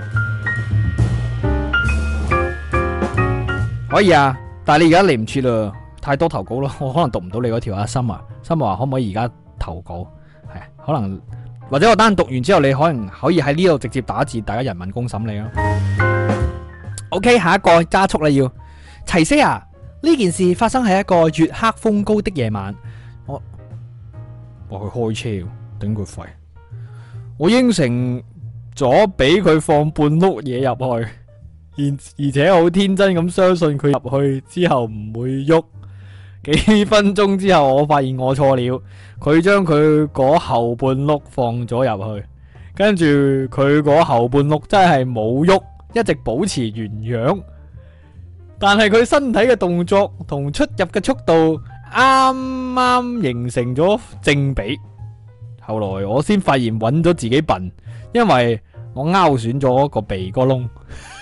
可以啊，但係你而家嚟唔切啦，太多投稿咯，我可能讀唔到你嗰條啊。心話可唔可以而家投稿？係啊，可能。或者我單讀完之後，你可能可以喺呢度直接打字，大家人民公審你咯。OK， 下一個加速啦要。齊些牙，呢件事發生喺一個月黑風高的夜晚。我去開車，頂佢肺。我應承咗俾佢放半碌嘢入去，而且好天真咁相信佢入去之後唔會喐。幾分鐘之後，我發現我錯了。佢將佢嗰後半碌放咗入去，跟住佢嗰後半碌真係冇喐，一直保持原樣。但係佢身體嘅動作同出入嘅速度啱啱形成咗正比。後來我先發現揾咗自己笨，因為我勾損咗個鼻哥窿。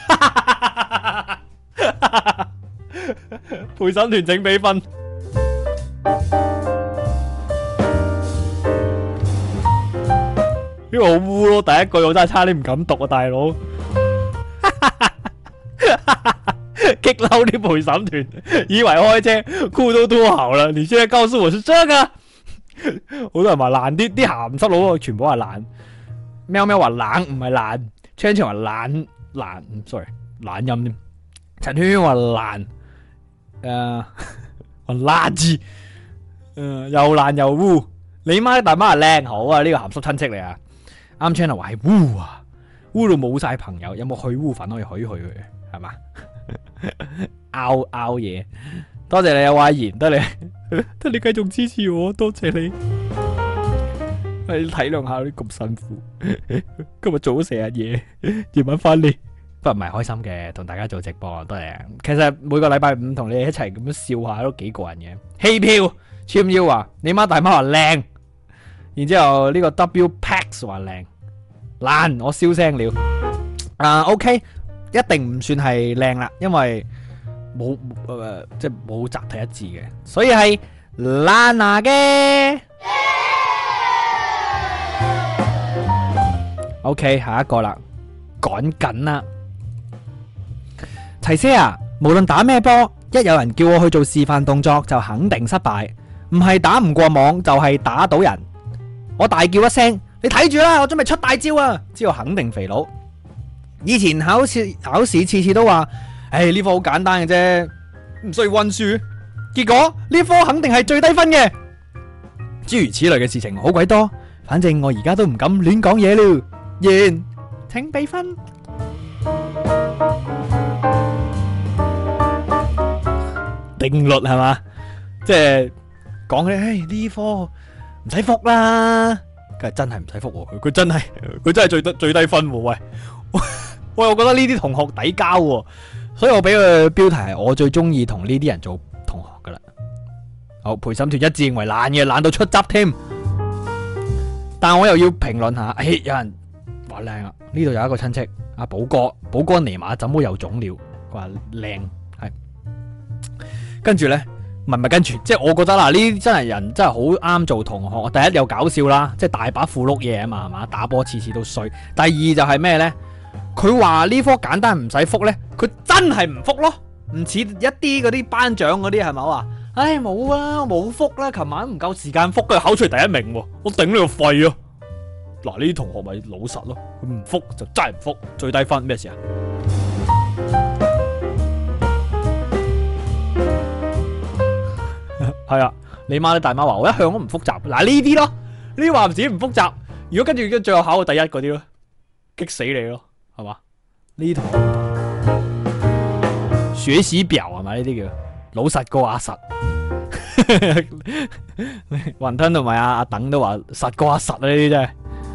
陪審團請俾分。呢個好污咯，第一句我真係差啲唔敢讀啊，大佬！激嬲啲陪審團，以為開車酷都脫喉啦，你現在告訴我是這個？好多人話爛啲鹹濕佬，全部話爛。喵喵話冷唔係爛，昌昌話爛，sorry 懶音添。陳圈圈話爛，話垃圾，又爛又污。你媽大媽係靚好啊，呢個鹹濕親戚嚟啊！啱 channel 話係污啊，污到冇晒朋友，有冇去污粉可以許佢係嘛？拗嘢，多謝你啊，華賢，得你繼續支持我，多謝你。你體諒下啲咁辛苦，今日做咗成日嘢，夜晚翻嚟，不過唔係開心嘅，同大家做直播都係。其實每個禮拜五同你一齊咁樣笑下都幾過癮嘅。棄票，簽腰話你媽大媽話靚。 然之後呢個 W Pax 話靚爛，我燒聲了。OK， 一定唔算係靚啦，因為冇即係冇集體一致嘅，所以係爛牙嘅。OK， 下一個啦，趕緊啦，齊姐啊！無論打咩波，一有人叫我去做示範動作，就肯定失敗。唔係打唔過網，就係打到人。我大叫一聲，你睇住啦，我準備出大招啊！之後肯定肥佬。以前考試次次都話，呢科好簡單嘅啫，唔需要溫書。結果呢科肯定係最低分嘅。諸如此類嘅事情好鬼多，反正我而家都唔敢亂講嘢了。完，請俾分。定律係嘛，即係講起呢科唔使復啦，梗係真係唔使復，佢真係最低分喎。喂，我覺得呢啲同學抵交喎，所以我俾佢標題係我最中意同呢啲人做同學噶啦。好，陪審團一致認為爛嘅，爛到出汁添。但我又要評論下，有人話靚啊，呢度有一個親戚阿寶哥尼瑪怎麼又腫了？佢話靚係，跟住呢，唔係跟住，即係我覺得啦，呢啲真係人真係好啱做同學。第一又搞笑啦，即係大把富碌嘢啊嘛，係嘛，打波次次都衰。第二就係咩呢？佢話呢科簡單唔使復呢，佢真係唔復咯，唔似一啲嗰啲班長嗰啲係咪話？冇啊，冇復啦，琴晚唔夠時間復，佢考出嚟第一名喎，我頂你個肺啊！嗱，呢啲同學咪老實咯，佢唔復就真係唔復，最低分咩事啊？係啊，你媽你大媽話我一向都唔復習，嗱呢啲咯，呢啲話唔止唔復習，如果跟住最後考到第一嗰啲咯，激死你咯，係嘛？呢同學學習表係咪呢啲叫老實過阿實？雲吞同埋阿等都話實過阿實啊！呢啲真係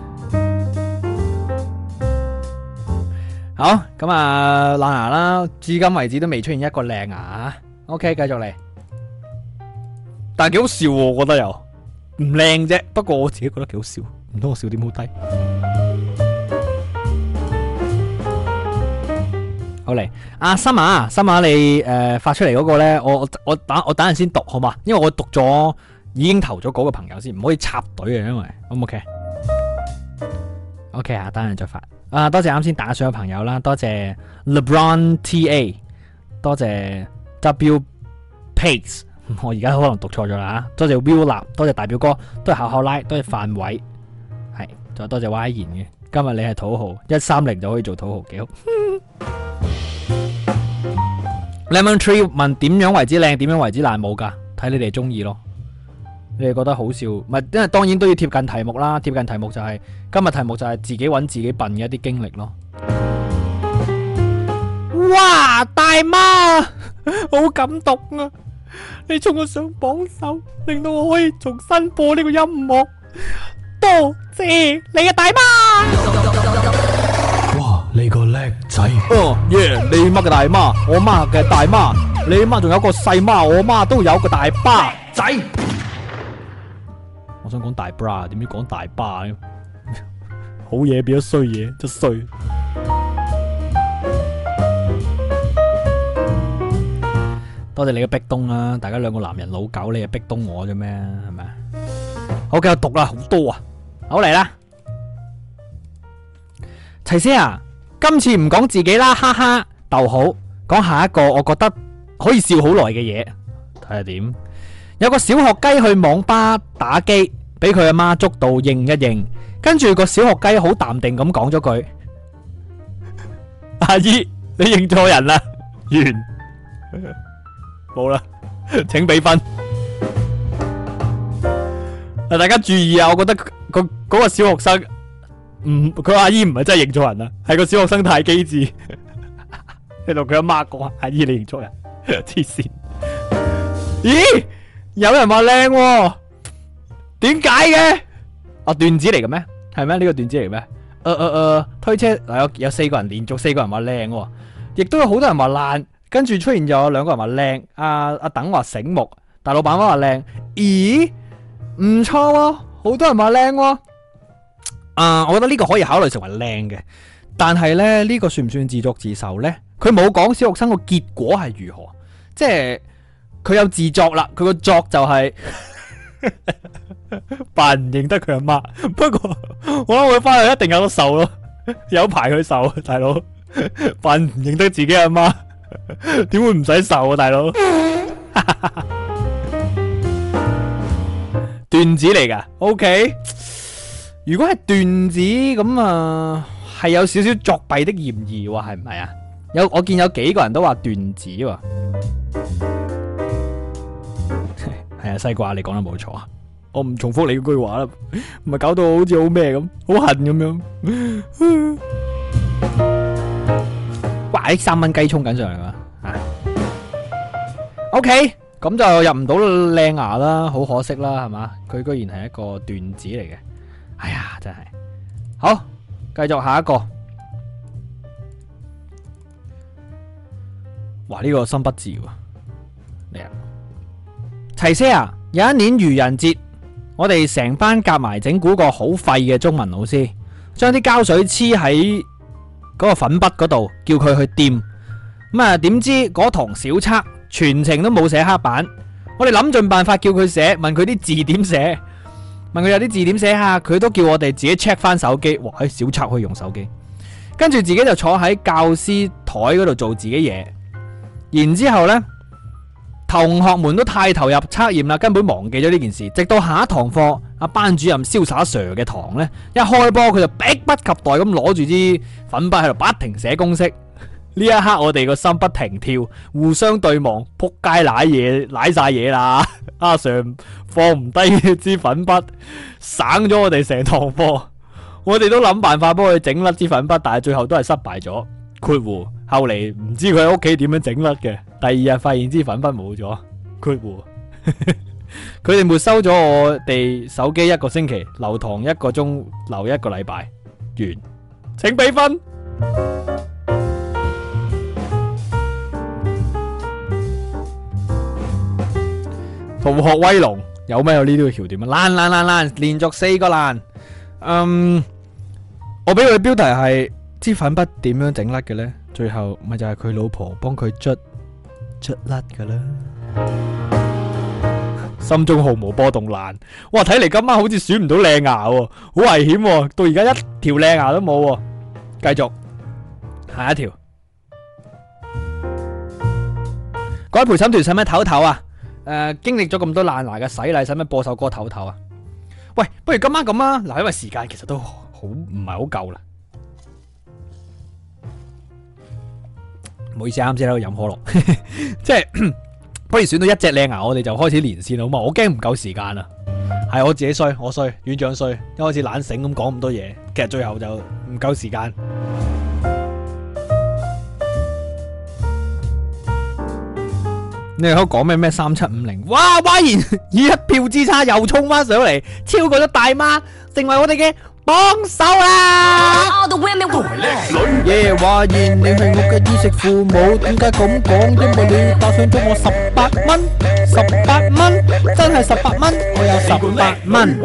好咁啊！爛牙啦，至今為止都未出現一個靚牙。OK，繼續嚟，但係幾好笑喎，我覺得又唔靚啫。不過我自己覺得幾好笑，唔通我笑點好低？好嚟，阿森啊，你發出嚟嗰個咧，我等陣先讀好嘛？因為我讀咗已經投咗嗰個朋友先，唔可以插隊嘅，因為 O 唔 OK？OK 啊，等陣再發。多謝啱先打賞嘅朋友啦，多謝 LeBron TA， 多謝 W Pace， 我而家可能讀錯咗啦，多謝 Will 立，多謝大表哥，多謝考拉，多謝范偉，係，仲有多謝 Y 言嘅。今日你係土豪，130就可以做土豪，幾好。Lemon Tree 問點樣為之靚，點樣為之爛，冇噶，睇你哋中意咯。你哋覺得好笑，唔係，因為當然都要貼近題目啦。貼近題目就係今日題目就係自己揾自己笨嘅一啲經歷咯。哇，大媽，好感動啊！你衝我上榜首，令到我可以重新播呢個音樂。多謝你啊，大媽！ 哇，你個叻仔！ 你媽嘅大媽，我媽嘅大媽，你媽仲有個細媽，我媽都有個大巴仔。我想講大 bra， 點知講大巴呢？好嘢變咗衰嘢，真衰。多謝你嘅壁咚啦，大家兩個男人老狗，你係壁咚我啫咩？係咪？好，繼續讀啦，好多啊！好嚟啦，齊姐啊，今次唔講自己啦，哈哈，逗號，講下一個我覺得可以笑好耐嘅嘢，睇下點。有個小學雞去網吧打機，俾佢阿媽捉到認一認，跟住個小學雞好淡定咁講咗句：阿姨，你認錯人啦。完，冇啦，請俾分。大家注意啊！我覺得嗰個小學生佢阿姨唔係真係認錯人啊，係個小學生太機智，你同佢阿媽講：阿姨，你認錯人，黐線。咦？有人話靚喎，點解嘅？段子嚟嘅咩？係咩？呢個段子嚟咩？推車嗱有4個人，連續4個人話靚喎，亦都有好多人話爛，跟住出現咗2個人話靚。阿等話醒目，大老闆話靚。咦？唔錯喎， 好多人話靚喎。我覺得呢個可以考慮成為靚嘅，但係咧呢個算唔算自作自受呢？佢冇講小學生個結果係如何，即係佢有自作啦，佢個作就係扮唔認得佢阿媽。不過我諗佢翻去一定有得受咯，有排佢受，大佬扮唔認得自己阿媽，點會唔使受啊，大佬？段子嚟噶 ，OK。如果係段子咁啊，係有少少作弊的嫌疑喎，係唔係啊？我見有幾個人都話段子喎，係啊，西瓜你講得冇錯啊，我唔重複你嗰句話啦，唔係搞到好似好咩咁，好恨咁樣。哇！啲3蚊雞衝緊上嚟啊！OK， 咁就入唔到靚牙啦，好可惜啦，係嘛？佢居然係一個段子嚟嘅。哎呀，真係好，繼續下一個。哇，呢個新筆字喎，嚟啊！齊些啊，有一年愚人節，我哋成班夾埋整蠱個好廢嘅中文老師，將啲膠水黐喺嗰個粉筆嗰度，叫佢去掂。咁啊，點知嗰堂小測全程都冇寫黑板，我哋諗盡辦法叫佢寫，問佢啲字點寫。問佢有啲字點寫下，佢都叫我哋自己 check 翻手機。哇！喺小測可以用手機，跟住自己就坐喺教師台嗰度做自己嘢。然之後呢，同學們都太投入測驗啦，根本忘記咗呢件事。直到下一堂課，阿班主任瀟灑 Sir 嘅堂呢，一開波佢就迫不及待咁攞住支粉筆喺度不停寫公式。呢一刻我哋個心不停跳，互相對望，扑街舐晒嘢啦！阿 Sir 放唔低支粉筆，省咗我哋成堂課。我哋都諗辦法幫佢整甩支粉筆，但係最後都係失敗咗。括弧後嚟唔知佢喺屋企點樣整甩嘅。第二日發現支粉筆冇咗。括弧佢哋沒收咗我哋手機1個星期，留堂1個鐘，留1個禮拜。完，請俾分。逃學威龍有咩有呢啲橋段啊？爛，連續4個爛。我俾佢標題係支粉筆點樣整甩嘅呢？最後咪就係佢老婆幫佢捽甩噶啦。心中毫無波動爛。哇！睇嚟今晚好似選唔到靚牙喎，好危險喎！到而家一條靚牙都冇喎。繼續下一條。各位陪審團使唔使唞唞啊？經歷咗咁多爛牙嘅洗禮，使唔使播首歌唞唞啊？喂，不如今晚咁啊！嗱，因為時間其實都好唔係好夠啦。唔好意思，啱先喺度飲可樂，即係不如選到一隻靚牙，我哋就開始連線好嘛？我驚唔夠時間啊！係我自己衰，我衰，院長衰，一開始懶醒咁講咁多嘢，其實最後就唔夠時間。你哋可以講咩3750？哇！嘩然以一票之差又衝翻上嚟，超過咗大媽，成為我哋嘅榜首啦！耶！嘩然你係我嘅衣食父母，點解咁講？因為你打賞咗我18蚊，18蚊，真係18蚊，我有18蚊。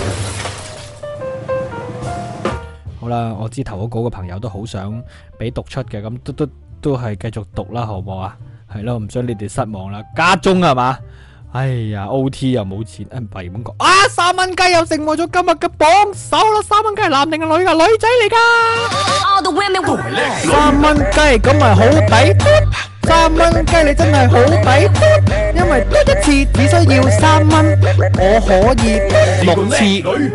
好啦，我知投稿嘅朋友都好想俾讀出嘅，咁都係繼續讀啦，好唔好啊？係咯，唔想你哋失望啦。家中係嘛？哎呀 ，OT 又冇錢，唔係咁講。啊，3蚊雞又成為咗今日嘅榜首啦！3蚊雞係男定係女噶？女仔嚟噶。3蚊雞咁咪好抵？3蚊雞你真係好抵，因為嘟一次只需要3蚊，我可以6次。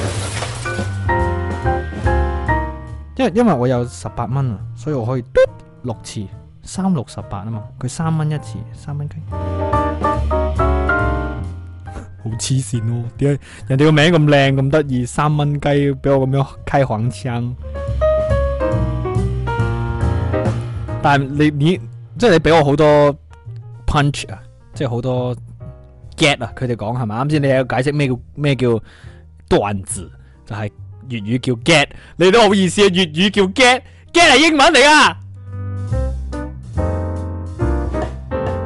因為我有18蚊啊，所以我可以嘟6次。3、6、18啊嘛，佢3蚊一次，3蚊雞，好黐線咯！點解人哋個名咁靚咁得意，3蚊雞俾我咁樣開黃腔？但係你即係你俾我好多 punch 啊，即係好多 get 啊！佢哋講係咪？啱先你有解釋咩叫段子，就係粵語叫 get， 你都好意思啊！粵語叫 get 係英文嚟噶。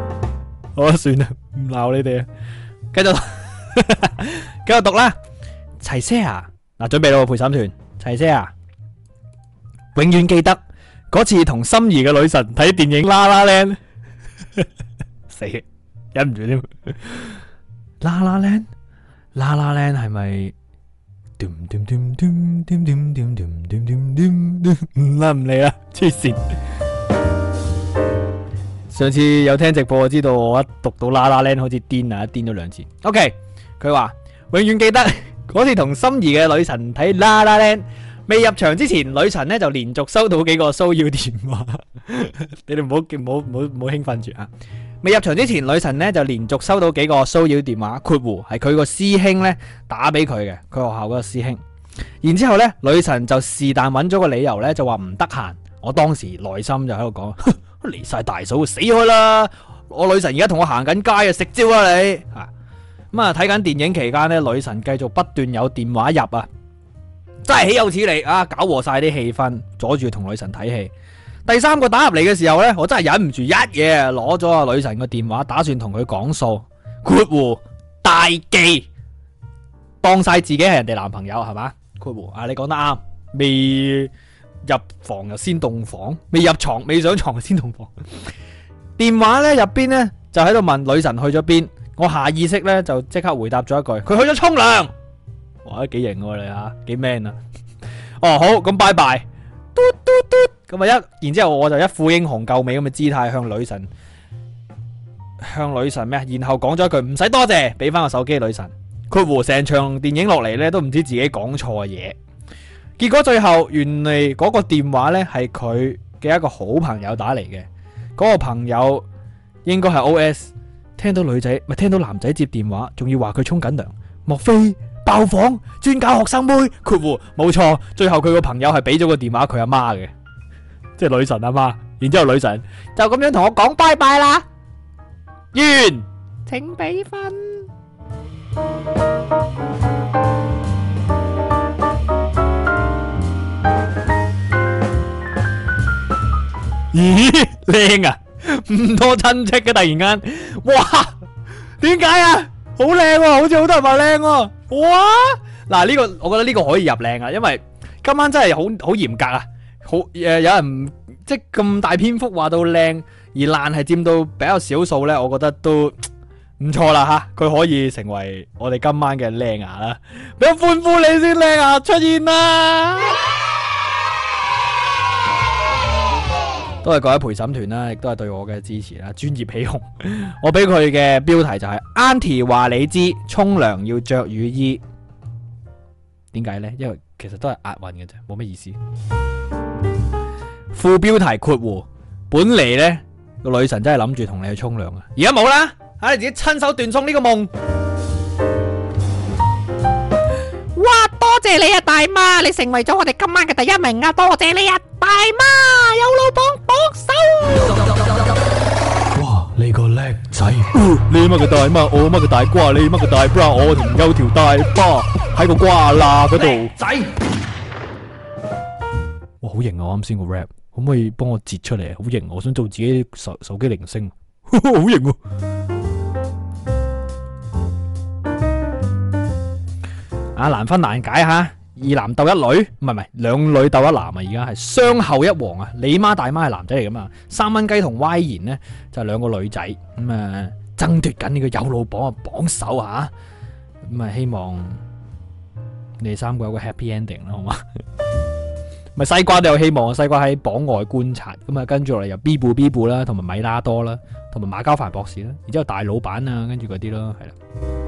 好啦，算啦，唔鬧你哋啊，繼續讀啦。 齊些牙嗱，準備咯，陪審團齊些牙，永遠記得嗰次同心儀嘅女神睇電影啦啦靚，死忍唔住添。啦啦靚，啦啦靚係咪？唔啦唔理啦，黐線。上次有聽直播，我知道我一讀到啦啦靚好似癲啊，癲咗2次。OK， 佢話永遠記得嗰次同心儀嘅女神睇啦啦靚，未入場之前，女神呢就連續收到幾個騷擾電話。你哋唔好興奮住啊！未入場之前，女神呢就連續收到幾個騷擾電話，括弧係佢個師兄呢打俾佢嘅，佢學校嗰個師兄。然之後呢，女神就是但揾咗個理由呢，就話唔得閒。我當時內心就喺度講，離晒大數，死開啦！我女神而家同我行緊街啊，食蕉啊你啊！咁啊睇緊電影期間呢，女神繼續不斷有電話入啊，真係豈有此理啊！搞和晒啲氣氛，阻住同女神睇戲。第3個打入嚟嘅時候呢，我真係忍唔住一嘢攞咗阿女神個電話，打算同佢講數。括弧大忌，當晒自己係人哋男朋友係嘛？括弧啊，你講得啱，未入房又先洞房，未入床未上床先洞房。電話呢入邊呢，就喺度問女神去咗邊，我下意識呢，就即刻回答咗一句：佢去咗沖涼。哇，幾型喎你啊，幾 man 啊！哦好，咁拜拜。嘟嘟嘟咁啊然之後我就一副英雄救美咁嘅姿態向女神咩？然後講咗一句唔使多謝，俾翻個手機女神。括弧成場電影落嚟呢，都唔知自己講錯嘢。結果最後原嚟嗰個電話呢，係佢嘅一個好朋友打嚟嘅，嗰個朋友應該係 OS， 聽到男仔接電話，仲要話佢沖緊涼，莫非爆房專搞學生妹？括弧冇錯，最後佢個朋友係俾咗個電話佢阿媽嘅，即係女神阿媽。然之後女神就咁樣同我講拜拜啦，完，請俾分。咦，靚啊，唔多親戚嘅突然間，哇，點解啊？好靚喎，好似好多人話靚喎。哇！嗱呢個我覺得呢個可以入靚啊，因為今晚真係好嚴格啊，有人即係咁大篇幅話到靚，而爛係佔到比較少數呢，我覺得都唔錯啦吓，佢可以成為我哋今晚嘅靚牙啦，俾我歡呼你先，靚牙出現啦！都係各位陪審團啦，亦都係對我嘅支持啦，專業起哄。我俾佢嘅標題就係 Auntie 話你知，沖涼要着雨衣。點解呢？因為其實都係押韻嘅啫，冇乜意思。副標題括弧，本嚟呢個女神真係諗住同你去沖涼啊，而家冇啦，吓你自己親手斷送呢個夢。 哇！多謝你啊，大媽，你成為咗我哋今晚嘅第1名啊！多謝你啊，大媽，有老幫手。 哇！你個叻仔， 你乜嘅大媽，我乜嘅大瓜，你乜嘅大 bra，我同有條大巴喺個瓜罅嗰度。仔，哇，好型啊！我啱先個 rap，可唔可以幫我截出嚟？好型，我想做自己手機鈴聲，好型喎！啊，難分難解吓，2男鬥1女，唔係2女鬥1男啊！而家係雙後一王啊！你媽大媽係男仔嚟噶嘛？3蚊雞同 Y 言呢就係2個女仔咁啊，爭奪緊呢個有老榜嘅榜首啊！咁啊，希望你哋3個有個 happy ending 啦，好嘛？咪西瓜都有希望啊！西瓜喺榜外觀察，咁啊跟住落嚟由 B 部啦，同埋米拉多啦，同埋馬交凡博士啦，然之後大老闆啊，跟住嗰啲咯，係啦。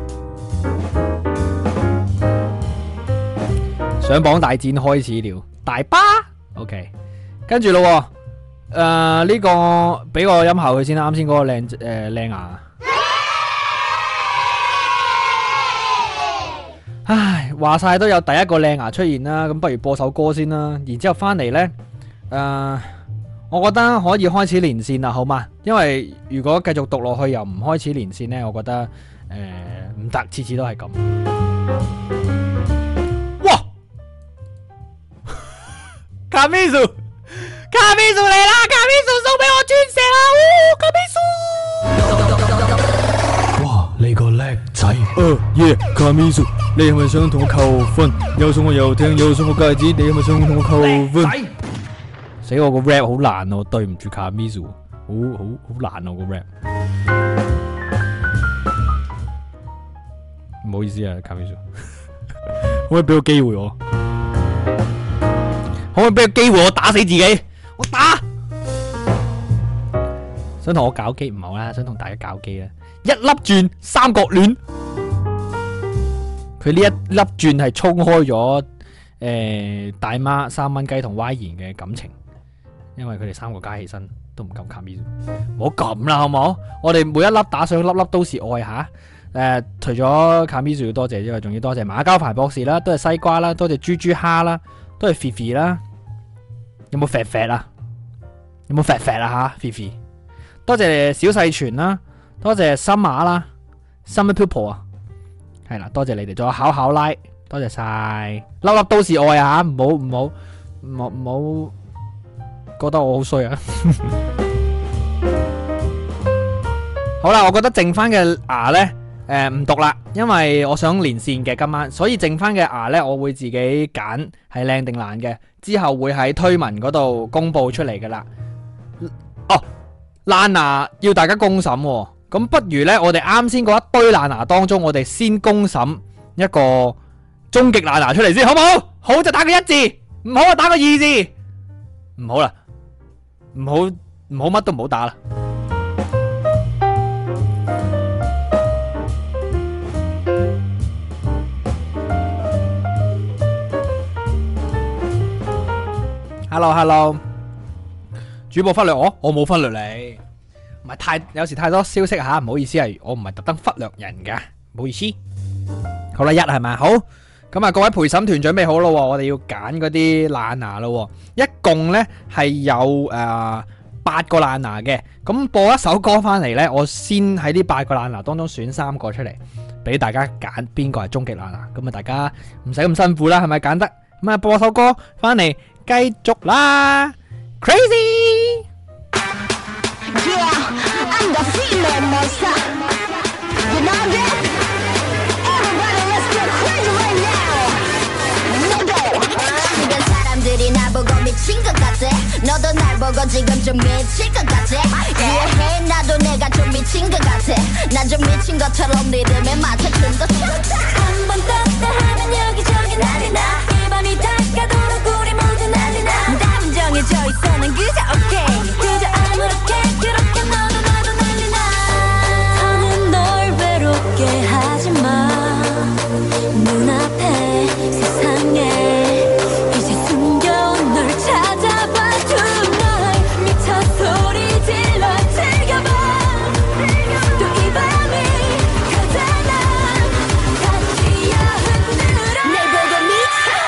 上榜大戰開始了，大巴 OK， 跟住咯，呢個俾個音效佢先啦，啱先嗰個靚牙。唉，話晒都有第一個靚牙出現啦，咁不如播首歌先啦，然之後翻嚟呢，我覺得可以開始連線啦，好嘛？因為如果繼續讀落去又唔開始連線呢，我覺得唔得，次次都係咁。卡米蘇嚟啦！卡米蘇送俾我鑽石啦！卡米蘇， 哇！你個叻仔， 卡米蘇， 你係咪想同我求婚？又送我遊艇，又送我戒指，你係咪想同我求婚？ 死我個 rap 好難啊！對唔住卡咪蘇，好難啊個 rap。唔好意思啊，卡咪蘇，可唔可以俾個機會我？可唔可以俾個機會我打死自己？我打！想同我搞基唔好啦，想同大家搞基啦。一粒鑽三角戀，佢呢一粒鑽係衝開咗大媽3蚊雞同 Y 言嘅感情，因為佢哋3個加起身都唔夠卡咪。唔好咁啦，好唔好？我哋每一粒打上粒粒都是愛吓。除咗卡咪要多謝之外，仲要多謝馬交凡博士啦，多謝西瓜啦，多謝豬豬蝦啦，多謝肥肥啦。有冇肥肥啊？有冇肥肥啊？吓，肥肥。多謝小細全啦，多謝森馬啦 ，Summer People 啊，係啦，多謝你哋，仲有考拉，多謝晒，粒粒都是愛啊，唔好覺得我好衰啊。好啦，我覺得剩翻嘅牙呢，唔讀啦，因為我想連線嘅今晚，所以剩翻嘅牙呢，我會自己揀係靚定爛嘅，之後會喺推文嗰度公布出嚟噶啦。哦。爛牙要大家公審喎，咁不如呢，我哋啱先嗰一堆爛牙當中，我哋先公審一個終極爛牙出嚟先，好唔好？好就打個1字，唔好就打個2字，唔好啦，唔好乜都唔好打啦。Hello，主播忽略我冇忽略你，唔係有時太多消息吓，唔好意思，係我唔係特登忽略人噶，唔好意思。好啦，係咪好？咁啊，各位陪審團準備好咯，我哋要揀嗰啲爛牙咯，一共呢係有8個爛牙嘅。咁播一首歌翻嚟呢，我先喺呢8個爛牙當中選3個出嚟，俾大家揀邊個係終極爛牙。咁啊，大家唔使咁辛苦啦，係咪揀得？咁啊，播首歌翻嚟繼續啦。Crazy! Yeah, I'm the female monster. You know that? Everybody, let's get crazy right now. Let go. 주변 사람들이 나보고 미친 것 같아. 너도 날 보고 지금 좀 미칠 것 같아. 이해해, 나도 내가 좀 미친 것 같아. 난 좀 미친 것처럼 리듬에 맞춰준 것 같아. 한번 떴다 하면 여기저기 난리 나. 이 밤이 다가도록 우리 모두 난리 나. 정해져 있어 난 그저 오케이 그저 아무렇게 그렇게 너도 난리 나. 더는 널 외롭게 하지마. 눈앞에 세상에 이제 숨겨온 널 찾아봐. Tonight 미쳐 소리 질러 즐겨봐. 또 이 밤이 가잖아. 같이야 흔들어. 날 보고 미쳐.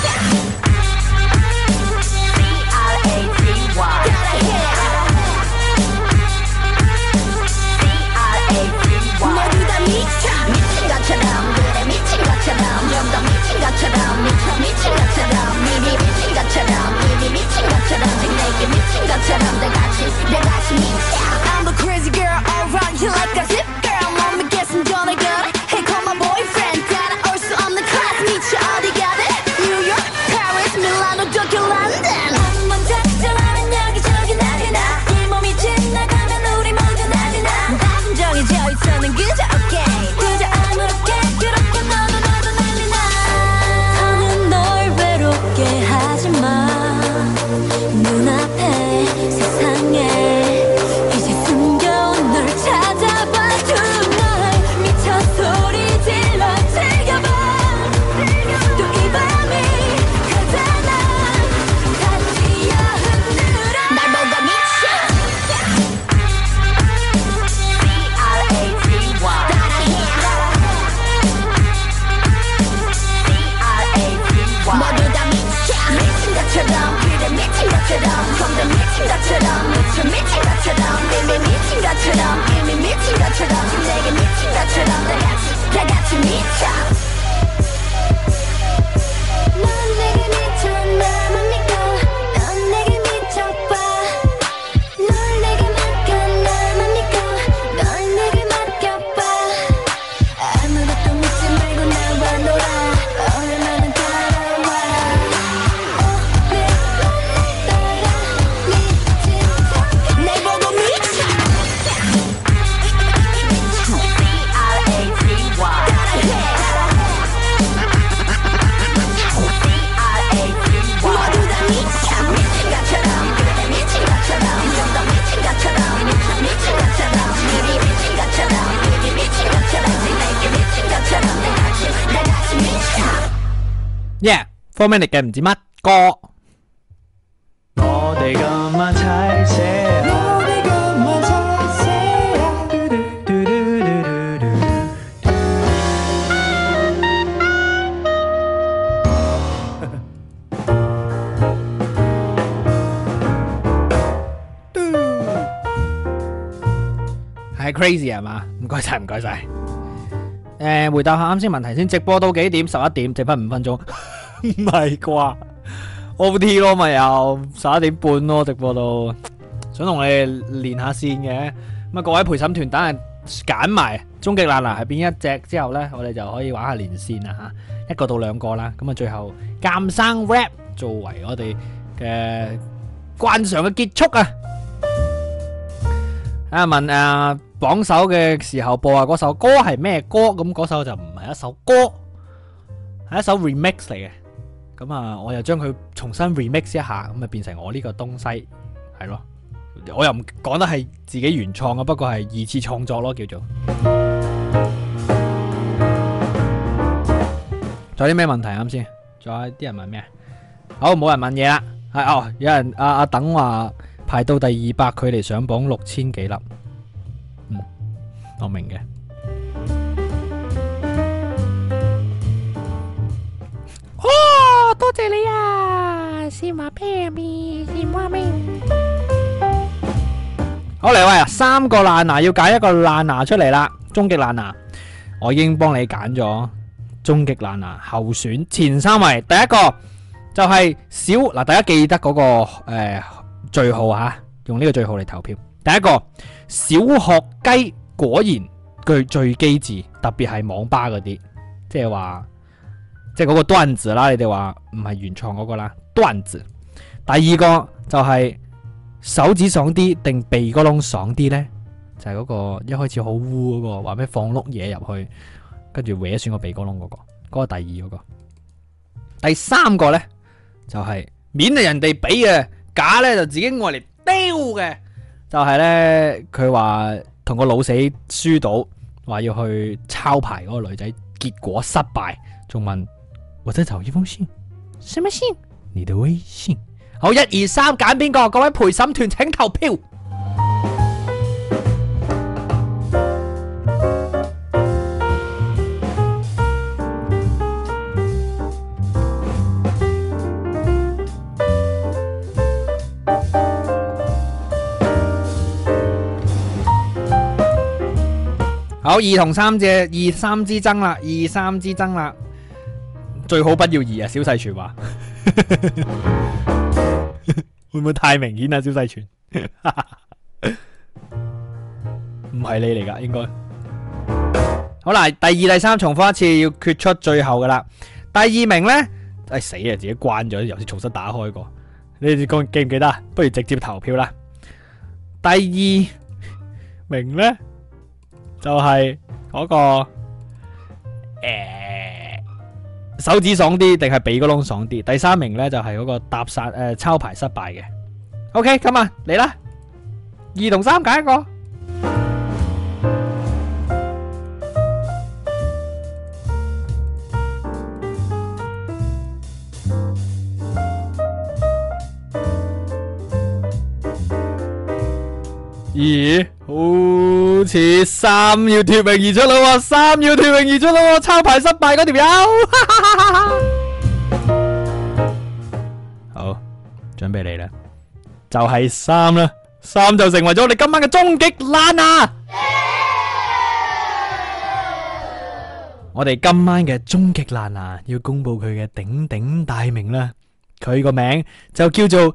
모두 다 미친 것처럼 그래 미친 것처럼 좀 더 미친 것처럼 미친 것처럼 이미 미친 것처럼 이미 미친 것처럼 지금 내게 미친 것처럼 다 같이 미쳐. I'm the crazy girl around here like a zip girl. 몸이 깨슴 전에 그래 Hey call my boyfriend 따라올 수 없는 class 미쳐 어디 가든 New York, Paris, Milano, Tokyo, London. 한번 작정하면 여기저기 난리 나. 이 몸이 지나가면 우리 모두 난리 나. 다 정해져 있어 난 그저 오케이 그저 아무렇게 그렇게 너도 난리 나. 더는 널 외롭게 하지마. 눈앞에 세상에 이제 숨겨온 널 찾아봐. Tonight 미쳐 소리 질러 즐겨봐. 또 이 밤이 가잖아. 같이야 흔들어. 날 보고 미쳐. 모두 다 미쳐. 미친 것처럼 그래 미친 것처럼 좀 더 미친 것처럼 미친 것처럼 이미 미친 것처럼 이미 미친 것처럼 지금 내게 미친 것처럼 다 같이 미쳐. 넌 내게 미쳐 나만 믿고 넌 내게 미쳐봐. 널 내게 맡겨 나만 믿고 널 내게 맡겨봐. 아무것도 묻지 말고 나와 놀아. Yeah，4 minute 嘅唔知乜歌。 我哋今晚齊寫啊，嘟嘟嘟嘟嘟係 crazy 係嘛？唔該晒，唔該晒。回答下啱先問題先。直播到幾點？11點，剩翻5分鐘。唔係啩 ？OT 咯，咪又11點半咯，直播到。想同你哋練下線嘅。咁啊，各位陪審團，等陣揀埋終極爛牙係邊一隻之後呢，我哋就可以玩下連線啦吓，1個到2個啦。咁啊，最後鑑生 rap 作為我哋嘅慣常嘅結束啊！問榜首嘅時候播嗰首歌係咩歌？咁嗰首就唔係一首歌，係一首 remix 嚟嘅。咁啊，我又將佢重新 remix 一下，咁啊變成我呢個東西，係咯。我又唔講得係自己原創嘅，不過係二次創作咯，叫做。仲有啲咩問題啱先？仲有啲人問咩？好，冇人問嘢啦。係有人阿等話排到第200，距離上榜6000幾粒。我明嘅。 哦，多謝你啊！先話咩咪？先話咩？ 好嚟喂啊！3個爛牙要揀一個爛牙出嚟啦，終極爛牙，我已經幫你揀咗終極爛牙候選前3位。第一個就係小嗱，大家記得嗰個序號吓，用呢個序號嚟投票。第一個小學雞果然句最機智，特別係網吧嗰啲，即係話即係嗰個段子啦，你哋話唔係原創嗰個啦，段子。第二個就係手指爽啲定鼻哥窿爽啲呢？就係嗰個一開始好污嗰個，話咩放碌嘢入去，跟住搲損個鼻哥窿嗰個，嗰個第二嗰個。第三個呢，就係面係人哋俾嘅，假呢就自己愛嚟丟嘅。就係呢，佢話同個老死輸到，話要去抄牌嗰個女仔，結果失敗，仲問我再找一封信， 什麼信？ 你的微信。好，1、2、3，揀邊個？各位陪審團請投票。好，2同3隻2、3之爭啦，2、3之爭啦，最好不要2啊！小細傳話。會唔會太明顯啊？小細傳唔係你嚟噶，應該好啦。第2、第3重複一次，要決出最後噶啦。第2名呢，死啊！自己關咗，遊戲重新打開過。你哋記唔記得？不如直接投票啦。第2名呢，就係嗰個手指爽啲定係鼻哥窿爽啲？第3名呢，就係嗰個搭殺抄牌失敗嘅。OK， 咁啊嚟啦，2同3揀一個。咦，好似3要脫穎而出啦喎，3要脫穎而出啦喎，抄牌失敗嗰條友。好，準備嚟啦，就係3啦，3就成為咗我哋今晚嘅終極爛牙。我哋今晚嘅終極爛牙要公布佢嘅鼎鼎大名啦，佢個名就叫做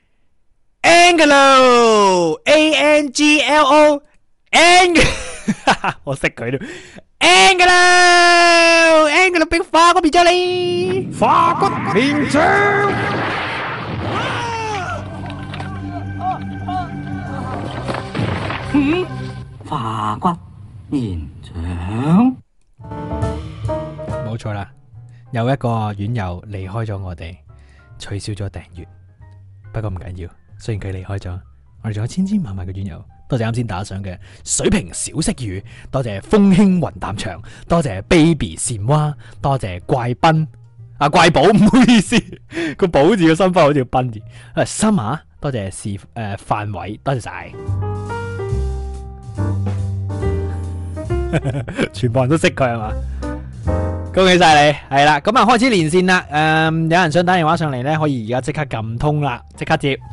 Angelo Angelo， 我識佢咯。Angelo 俾化骨變咗你，化骨連掌。 化骨連掌， 冇錯啦，有一個院友離開咗我哋，取消咗訂閱，不過唔緊要。雖然佢離開咗，我哋仲有千千萬萬嘅院友。多謝啱先打賞嘅水瓶小色魚，多謝風輕雲淡長，多謝 baby 蟬蛙，多謝怪賓啊，怪寶唔好意思，個寶字個心花好似個賓字。Summer，多謝范偉，多謝晒。全部人都識佢係嘛？恭喜晒你，係啦，咁啊開始連線啦。有人想打電話上嚟呢，可以而家即刻撳通啦，即刻接。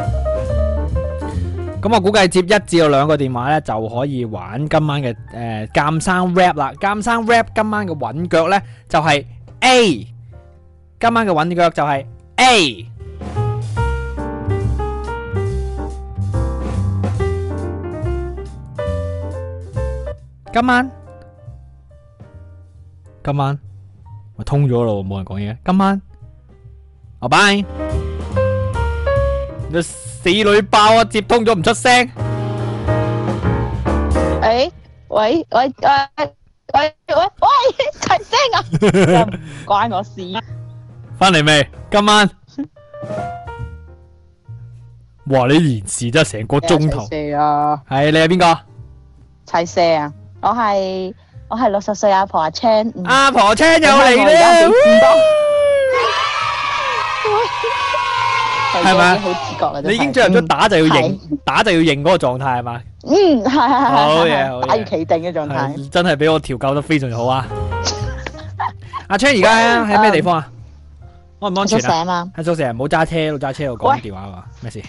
咁我估計接1至2個電話呢，就可以玩今晚嘅鑑生 rap 啦。鑑生 rap 今晚嘅韻腳呢，就係 A， 今晚嘅韻腳就係 A。今晚我通咗咯，冇人講嘢。今晚，拜拜。你死女爆啊！接通咗唔出聲。 喂，齊聲啊！唔關我事。 翻嚟未？今晚，哇！你延時真係成個鐘頭。係你係邊個？ 齊聲啊！我係60歲阿婆阿 Chan。 阿婆 Chan 又嚟啦！係咪？ 好自覺啦！ 你已經進入咗打就要認嗰個狀態係嘛？ 係。 好嘢， 打要企定嘅狀態。 真係俾我調教得非常好啊！阿 Chan 而家喺咩地方啊？安唔安全啊？喺宿舍，唔好揸車，路揸車度講電話嘛？咩事？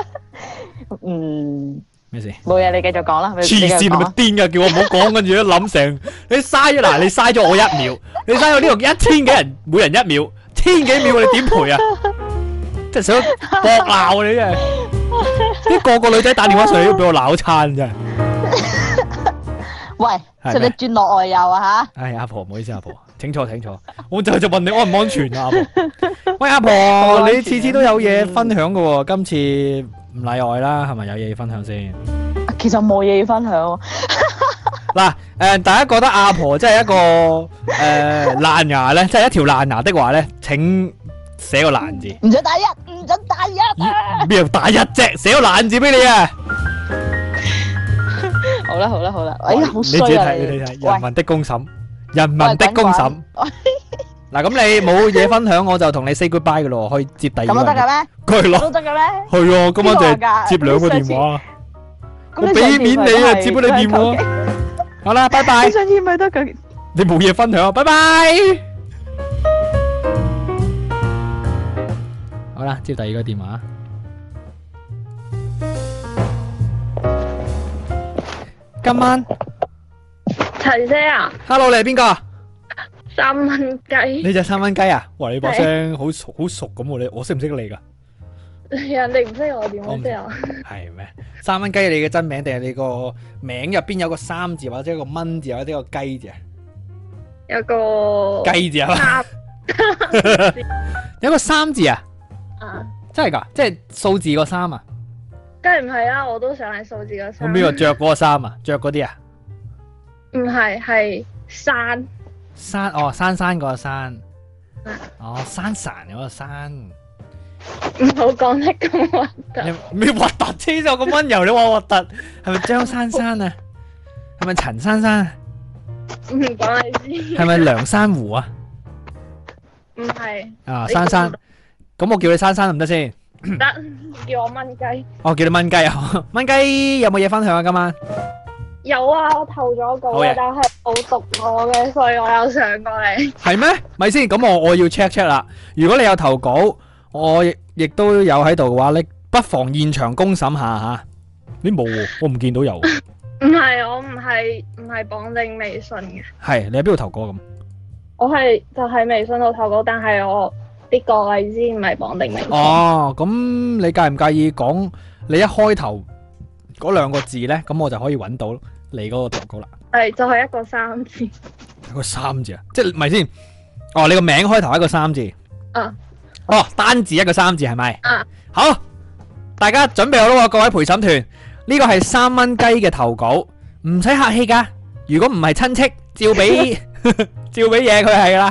咩事？ 冇嘢，你繼續講啦。 黐線你咪癲噶，叫我唔好講，跟住一諗成你嘥咗你嘥咗我1秒，你嘥咗呢個1000幾人，每人1秒，1000幾秒，你點賠啊？真係想搏鬧你真係，啲個女仔打電話上嚟都俾我鬧餐真係。 喂，使你轉落外遊啊吓？ 唉，阿婆唔好意思，阿婆，請坐，我就問你安唔安全啊？阿婆，喂阿婆，你次次都有嘢分享噶喎，今次唔例外啦，係咪有嘢要分享先？ 其實冇嘢要分享。 嗱，大家覺得阿婆真係一個爛牙咧，即係一條爛牙的話咧，請寫個爛字。 唔准打一，唔准打一。 邊度打一啫？寫個爛字俾你啊！ 好啦，哎呀，好衰啊！ 你睇，人民的公審，人民的公審。嗱，咁你冇嘢分享，我就同你 say goodbye 噶咯，可以接第二個。 咁都得嘅咩？ 係咯， 都得嘅咩？ 係啊，今晚就係接2個電話。我俾面你啊，接咗你電話。好啦，拜拜。 你上次咪得嘅。 你冇嘢分享，拜拜。好啦，接第2個電話。今晚齊姐啊 ，Hello， 你係邊個 ？3蚊雞。 你隻3蚊雞啊？哇，你把聲好熟咁喎，我識唔識你噶？ 人哋唔識我，點會識我？ 係咩？3蚊雞，你嘅真名定係你個名入邊有個3字，或者一個蚊字，或者一個雞字啊？ 有個雞字啊？有個3字啊？真係噶？即係數字個3啊？ 梗係唔係啦，我都想係數字個3。 咁邊個着嗰個衫啊？着嗰啲啊？ 唔係，係山哦，山嗰個山。哦，山嗰個山。 唔好講得咁核突。 咩核突？黐咗咁溫柔，你話核突？係咪張珊啊？係咪陳珊啊？ 唔講你知。 係咪梁珊瑚啊？ 唔係。 啊，珊。咁我叫你珊得唔得先？ 唔得，叫我蚊雞。 我叫你蚊雞啊！蚊雞有冇嘢分享啊？今晚有啊，我投咗稿啊，但係冇讀我嘅，所以我有上過嚟。 係咩？咪先，咁我要 check 啦。如果你有投稿，我亦都有喺度嘅話，你不妨現場公審下吓。你冇喎，我唔見到有。 唔係，我唔係綁定微信嘅。 係你喺邊度投稿咁？ 我係就喺微信度投稿，但係我啲個位先唔係綁定微信。 哦，咁你介唔介意講你一開頭嗰2個字咧？咁我就可以揾到你嗰個投稿啦。 係就係一個3字。 一個3字啊？即係咪先？哦，你個名開頭一個3字。 啊。 哦，單字一個3字係咪？ 啊。 好，大家準備好啦，各位陪審團，呢個係3蚊雞嘅投稿，唔使客氣噶。如果唔係親戚，照俾嘢佢係噶啦。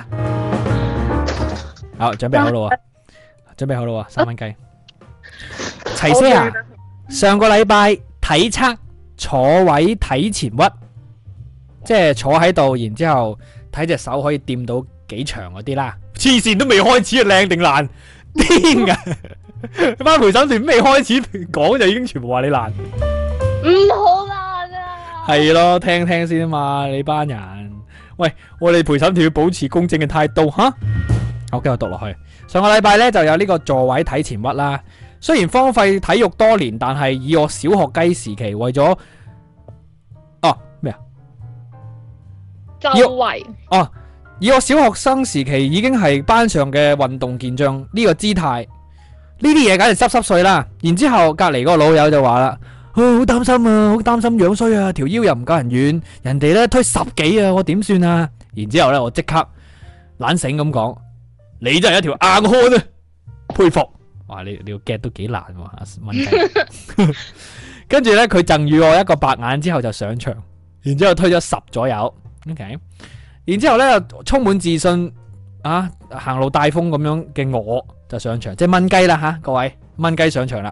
好，準備好啦，準備好啦，3蚊雞。齊些牙，上個禮拜體測坐位體前屈，即係坐喺度，然之後睇隻手可以掂到幾長嗰啲啦。 黐線都未開始啊，靚定爛？癲噶！班陪審團未開始講就已經全部話你爛。 唔好爛啊！ 係咯，聽聽先啊嘛，你班人。喂，我哋陪審團要保持公正嘅態度吓。好，繼續讀落去。上個禮拜咧就有呢個座位睇前屈啦。雖然荒廢體育多年，但係以我小學雞時期為咗咩啊？ 周圍以我小學生時期已經係班上嘅運動健將呢個姿態，呢啲嘢梗係濕濕碎啦。然之後隔籬嗰個老友就話啦：，好擔心啊，好擔心樣衰啊，條腰又唔夠人軟，人哋咧推10幾啊，我點算啊？然之後咧我即刻懶醒咁講：，你真係一條硬漢啊，佩服！哇，你個 get 都幾難喎，阿蚊雞。跟住咧佢贈予我一個白眼之後就上場，然之後推咗10左右 ，OK。然之後咧，充滿自信啊，行路帶風咁樣嘅我就上場，即係蚊雞啦吓，各位蚊雞上場啦。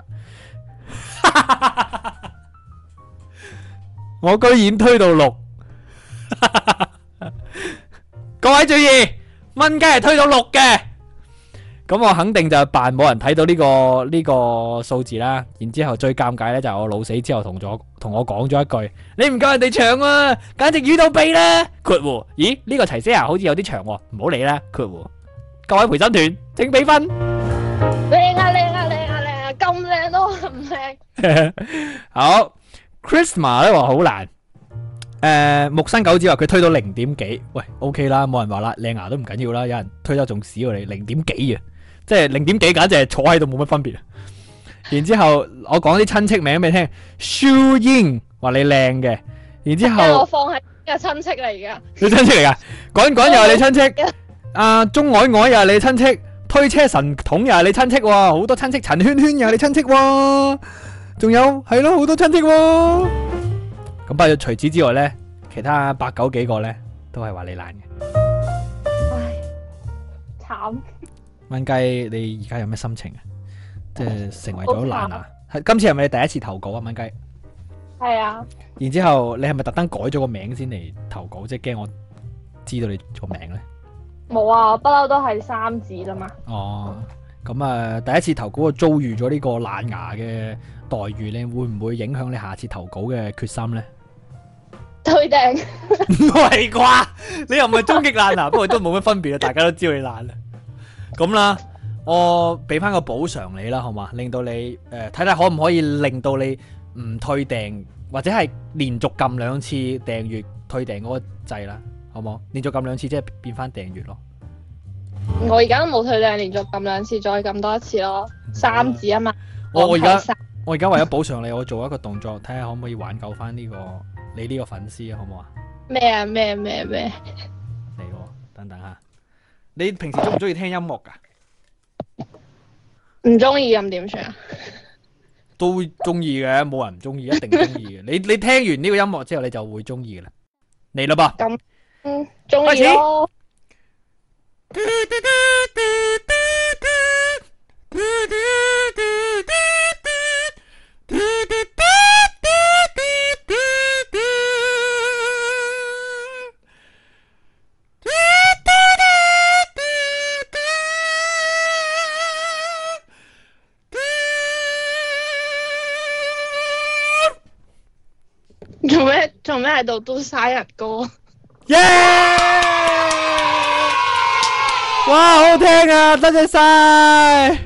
我居然推到6，各位注意，蚊雞係推到6嘅。咁我肯定就扮冇人睇到呢個數字啦。然之後最尷尬咧就係我老死之後同我講咗一句：你唔夠人哋長啊，簡直魚到痹啦！括弧，咦呢個齊些牙好似有啲長喎，唔好理啦。括弧，各位陪審團請俾分。 靚啊靚啊靚啊靚啊，咁靚都唔靚。 好 ，Christmas 咧話好難。木生狗子話佢推到0點幾，喂 OK 啦，冇人話啦，靚牙都唔緊要啦，有人推得仲屎過你0點幾啊！即係0點幾，簡直係坐喺度冇乜分別。然之後我講啲親戚名俾你聽，舒英話你靚嘅。然之後我放喺個親戚嚟噶， 你親戚嚟噶？講又係你親戚，阿鐘凱凱又係你親戚，推車神童又係你親戚喎，好多親戚，陳圈圈又係你親戚喎，仲有係咯好多親戚喎。咁不過除此之外咧，其他8、9幾個咧都係話你爛嘅。 唉，慘。 蚊雞，你而家有咩心情啊？即係成為咗爛牙。今次係咪你第一次投稿啊？蚊雞。 係啊。 然之後你係咪特登改咗個名先嚟投稿？即係驚我知道你個名咧？ 冇啊，不嬲都係3字啦嘛。 哦，咁啊，第一次投稿就遭遇咗呢個爛牙嘅待遇咧，會唔會影響你下次投稿嘅決心咧？ 推定。 唔係啩？你又唔係終極爛牙，不過都冇乜分別啊！大家都知道你爛啦。咁啦，我俾翻個補償你啦，好嘛？令到你睇睇可唔可以令到你唔退訂，或者係連續撳2次訂閱退訂嗰個掣啦，好冇？連續撳2次即係變翻訂閱咯。 我而家都冇退訂，連續撳2次，再撳多一次咯。3字啊嘛。 我而家為咗補償你，我做一個動作，睇下可唔可以挽救翻你呢個粉絲啊，好唔好啊？ 咩啊？咩？ 嚟喎，等等下。你平時中唔中意聽音樂噶？ 唔中意咁點算啊？ 都中意嘅，冇人唔中意，一定中意嘅。你聽完呢個音樂之後，你就會中意嘅啦。嚟啦噃， 咁中意咯。做咩喺度都生日歌？ 耶！哇，好聽啊，多謝晒。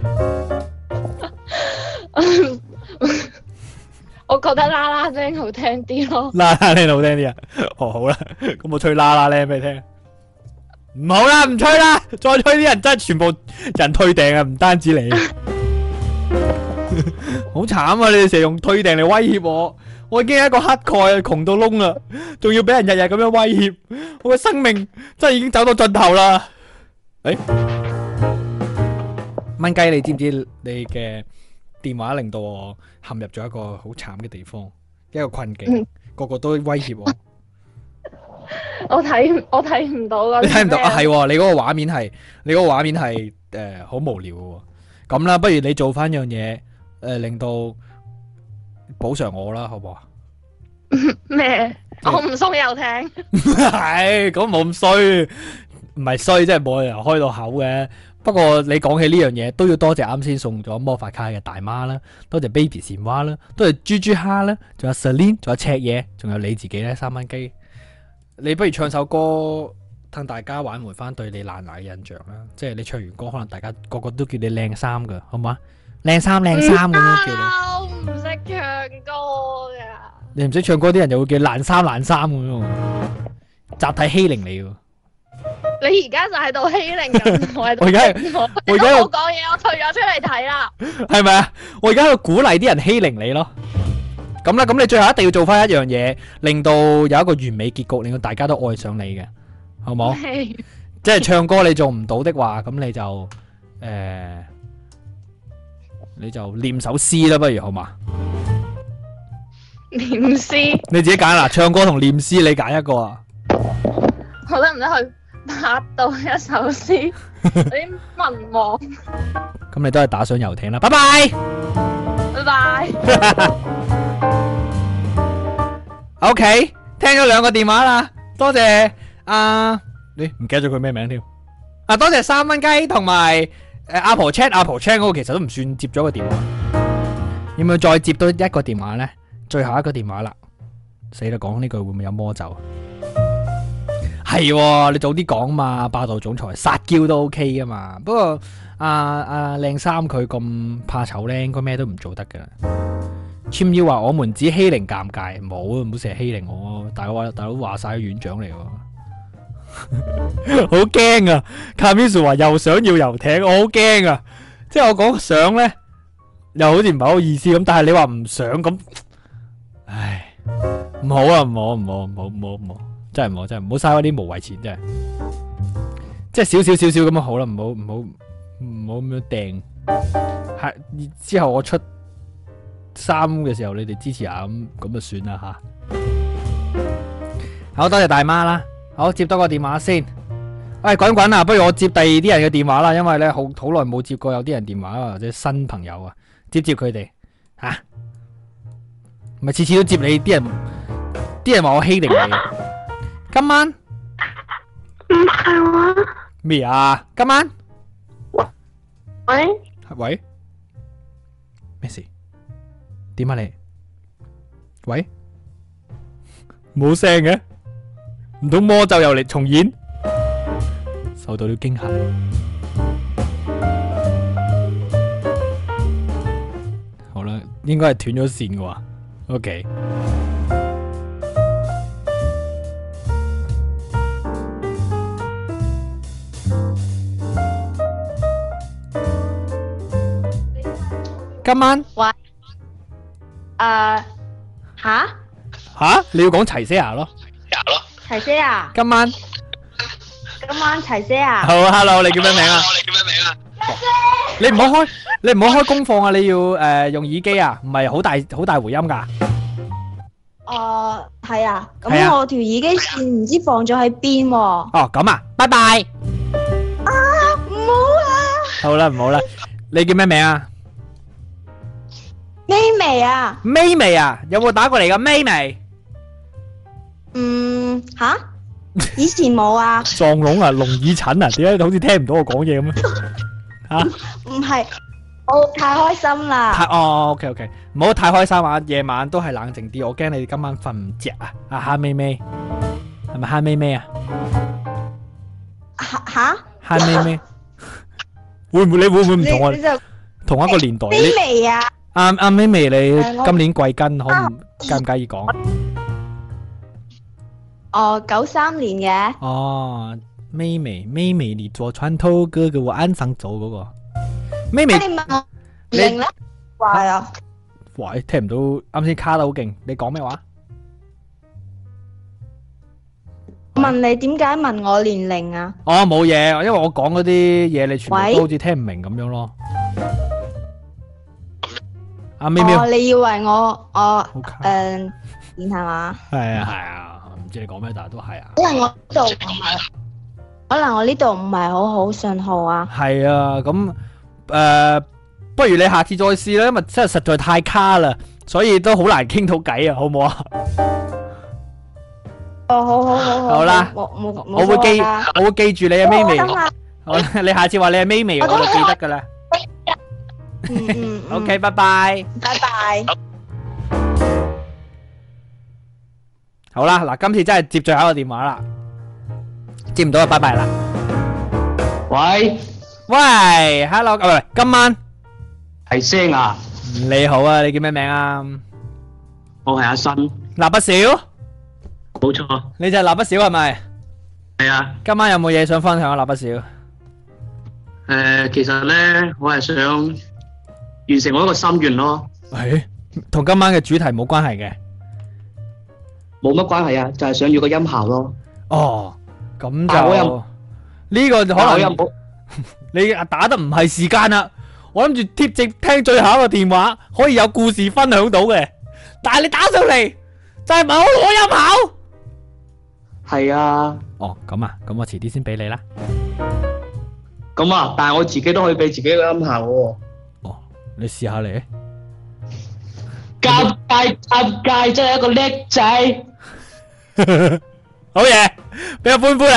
我覺得啦啦聲好聽啲咯。 啦啦聲好聽啲啊？哦，好啦，咁我吹啦啦聲俾你聽。唔好啦，唔吹啦，再吹啲人真係全部人退訂啊，唔單止你。好慘啊！你哋成日用退訂嚟威脅我。我已經係一個乞丐啊，窮到窿啦，仲要俾人日日咁樣威脅，我嘅生命真係已經走到盡頭啦。蚊雞，你知唔知你嘅電話令到我陷入咗一個好慘嘅地方，一個困境，個個都威脅我。 我睇唔到㗎。 你睇唔到啊？係，你嗰個畫面係好無聊嘅。咁啦，不如你做翻樣嘢，令到補償我啦，好唔好啊？ 咩？我唔送又聽。 係，咁冇咁衰， 唔係衰，即係冇人開到口嘅。不過你講起呢樣嘢，都要多謝啱先送咗魔法卡嘅大媽啦，多謝 Baby 蟬蛙啦，多謝豬豬蝦啦，仲有 Celine， 仲有赤嘢，仲有你自己咧3蚊雞。你不如唱首歌，等大家挽回翻對你爛奶嘅印象啦。即係你唱完歌，可能大家個個都叫你靚衫噶，好嘛？靚衫靚衫咁樣叫你。 我唔識唱歌噶。 你唔識唱歌，啲人就會叫爛衫爛衫咁樣，集體欺凌你喎。 你而家就喺度欺凌緊我， 我而家冇講嘢，我退咗出嚟睇啦。 係咪啊？我而家喺度鼓勵啲人欺凌你咯。咁啦，咁你最後一定要做翻一樣嘢，令到有一個完美結局，令到大家都愛上你嘅，好冇？即係唱歌你做唔到的話，咁你就念首詩啦，不如好嘛？ 念詩？ 你自己揀啦，唱歌同念詩，你揀一個啊？ 我得唔得去拍到一首詩？啲文王。 咁你都係打上遊艇啦，拜拜。 拜拜。 OK， 聽咗2個電話啦，多謝你唔記得咗佢咩名添？多謝3蚊雞同埋阿婆 chat 嗰個其實都唔算接咗個電話，要唔要再接多一個電話呢？最後一個電話啦，死啦！講呢句會唔會有魔咒？係喎，你早啲講嘛，霸道總裁撒嬌都 OK 噶嘛。不過靚衫佢咁怕醜咧，應該咩都唔做得噶啦。簽要話我們只欺凌尷尬，冇成日欺凌我，大佬話晒院長嚟喎，好驚啊！卡米蘇話又想要遊艇，我好驚啊！即係我講想咧，又好似唔係好意思咁，但係你話唔想咁，唉，唔好啊，唔好，真係唔好嘥嗰啲無謂錢，真係，即係少少咁樣好啦，唔好咁樣掟，係之後我出衫嘅時候，你哋支持下咁就算啦吓。好多謝大媽啦，好接多個電話先。喂，滾啊！不如我接第二啲人嘅電話啦，因為咧好耐冇接過有啲人電話或者新朋友啊，接佢哋吓，唔係次次都接你，啲人話我欺凌你。今晚唔係話咩啊？今晚喂咩事？點啊你？喂，冇聲嘅，唔通魔咒又嚟重演？受到了驚嚇。好啦，應該係斷咗線嘅話 ，OK。今晚喂，吓？ 你要講齊些牙咯？ 齊些牙？ 今晚齊些牙？ 好 ，Hello， 你叫咩名啊？你唔好開功放啊！你要用耳機啊，唔係好大回音噶。 係啊，咁我條耳機線唔知放咗喺邊喎。 哦，咁啊，拜拜。 唔好啊！ 好啦，唔好啦，你叫咩名啊？ 咪微啊，有冇打過嚟噶咪微？ 以前冇啊。 撞聾啊，聾耳疹啊，點解好似聽唔到我講嘢咁啊？ 唔係，我太開心啦。 OK， 唔好太開心啊！夜晚都係冷靜啲，我驚你哋今晚瞓唔着啊！蝦咪咪，係咪蝦咪咪啊？蝦咪咪，你會唔會唔同我同一個年代？ 咪微啊！ 阿咪咪，你今年貴庚？介唔介意講 ？93年嘅。 咪咪，你做船頭哥嘅我岸上走嗰個。咪咪， 你問我年齡咧？話啊！ 喂，聽唔到，啱先卡得好勁。你講咩話？ 問你點解問我年齡啊？ 冇嘢，因為我講嗰啲嘢，你全部都好似聽唔明咁樣咯。阿咪咪， 你以為我電係嘛？ 係啊，唔知你講咩，但係都係啊。 可能我呢度唔係好信號啊。 係啊，咁不如你下次再試啦，因為真係實在太卡啦，所以都好難傾到偈啊，好唔好啊？ 哦，好。 好啦冇我會記我會記住你啊，咪咪。 等下好啦，你下次話你係咪咪，我就記得噶啦。OK，拜拜。 拜拜。 好啦，嗱，今次真係接最後一個電話啦，接唔到就拜拜啦。喂 ，Hello， 喂，今晚係聲啊！ 你好啊，你叫咩名啊？ 我係阿新。 蠟筆小， 冇錯。 你就係蠟筆小係咪？ 係啊。 今晚有冇嘢想分享啊？蠟筆小？ 其實咧，我係想完成我一個心願咯。 同今晚嘅主題冇關係嘅。 冇乜關係啊，就係想要個音效咯。 哦，咁就呢個可能你打得唔係時間啦。我諗住貼直聽最後一個電話，可以有故事分享到嘅。但係你打上嚟就係問我攞音效。 係啊。 哦，咁啊，咁我遲啲先俾你啦。 咁啊，但係我自己都可以俾自己個音效喎。 哦，你試下嚟。 尷尬，真係一個叻仔。 好嘢，俾個歡呼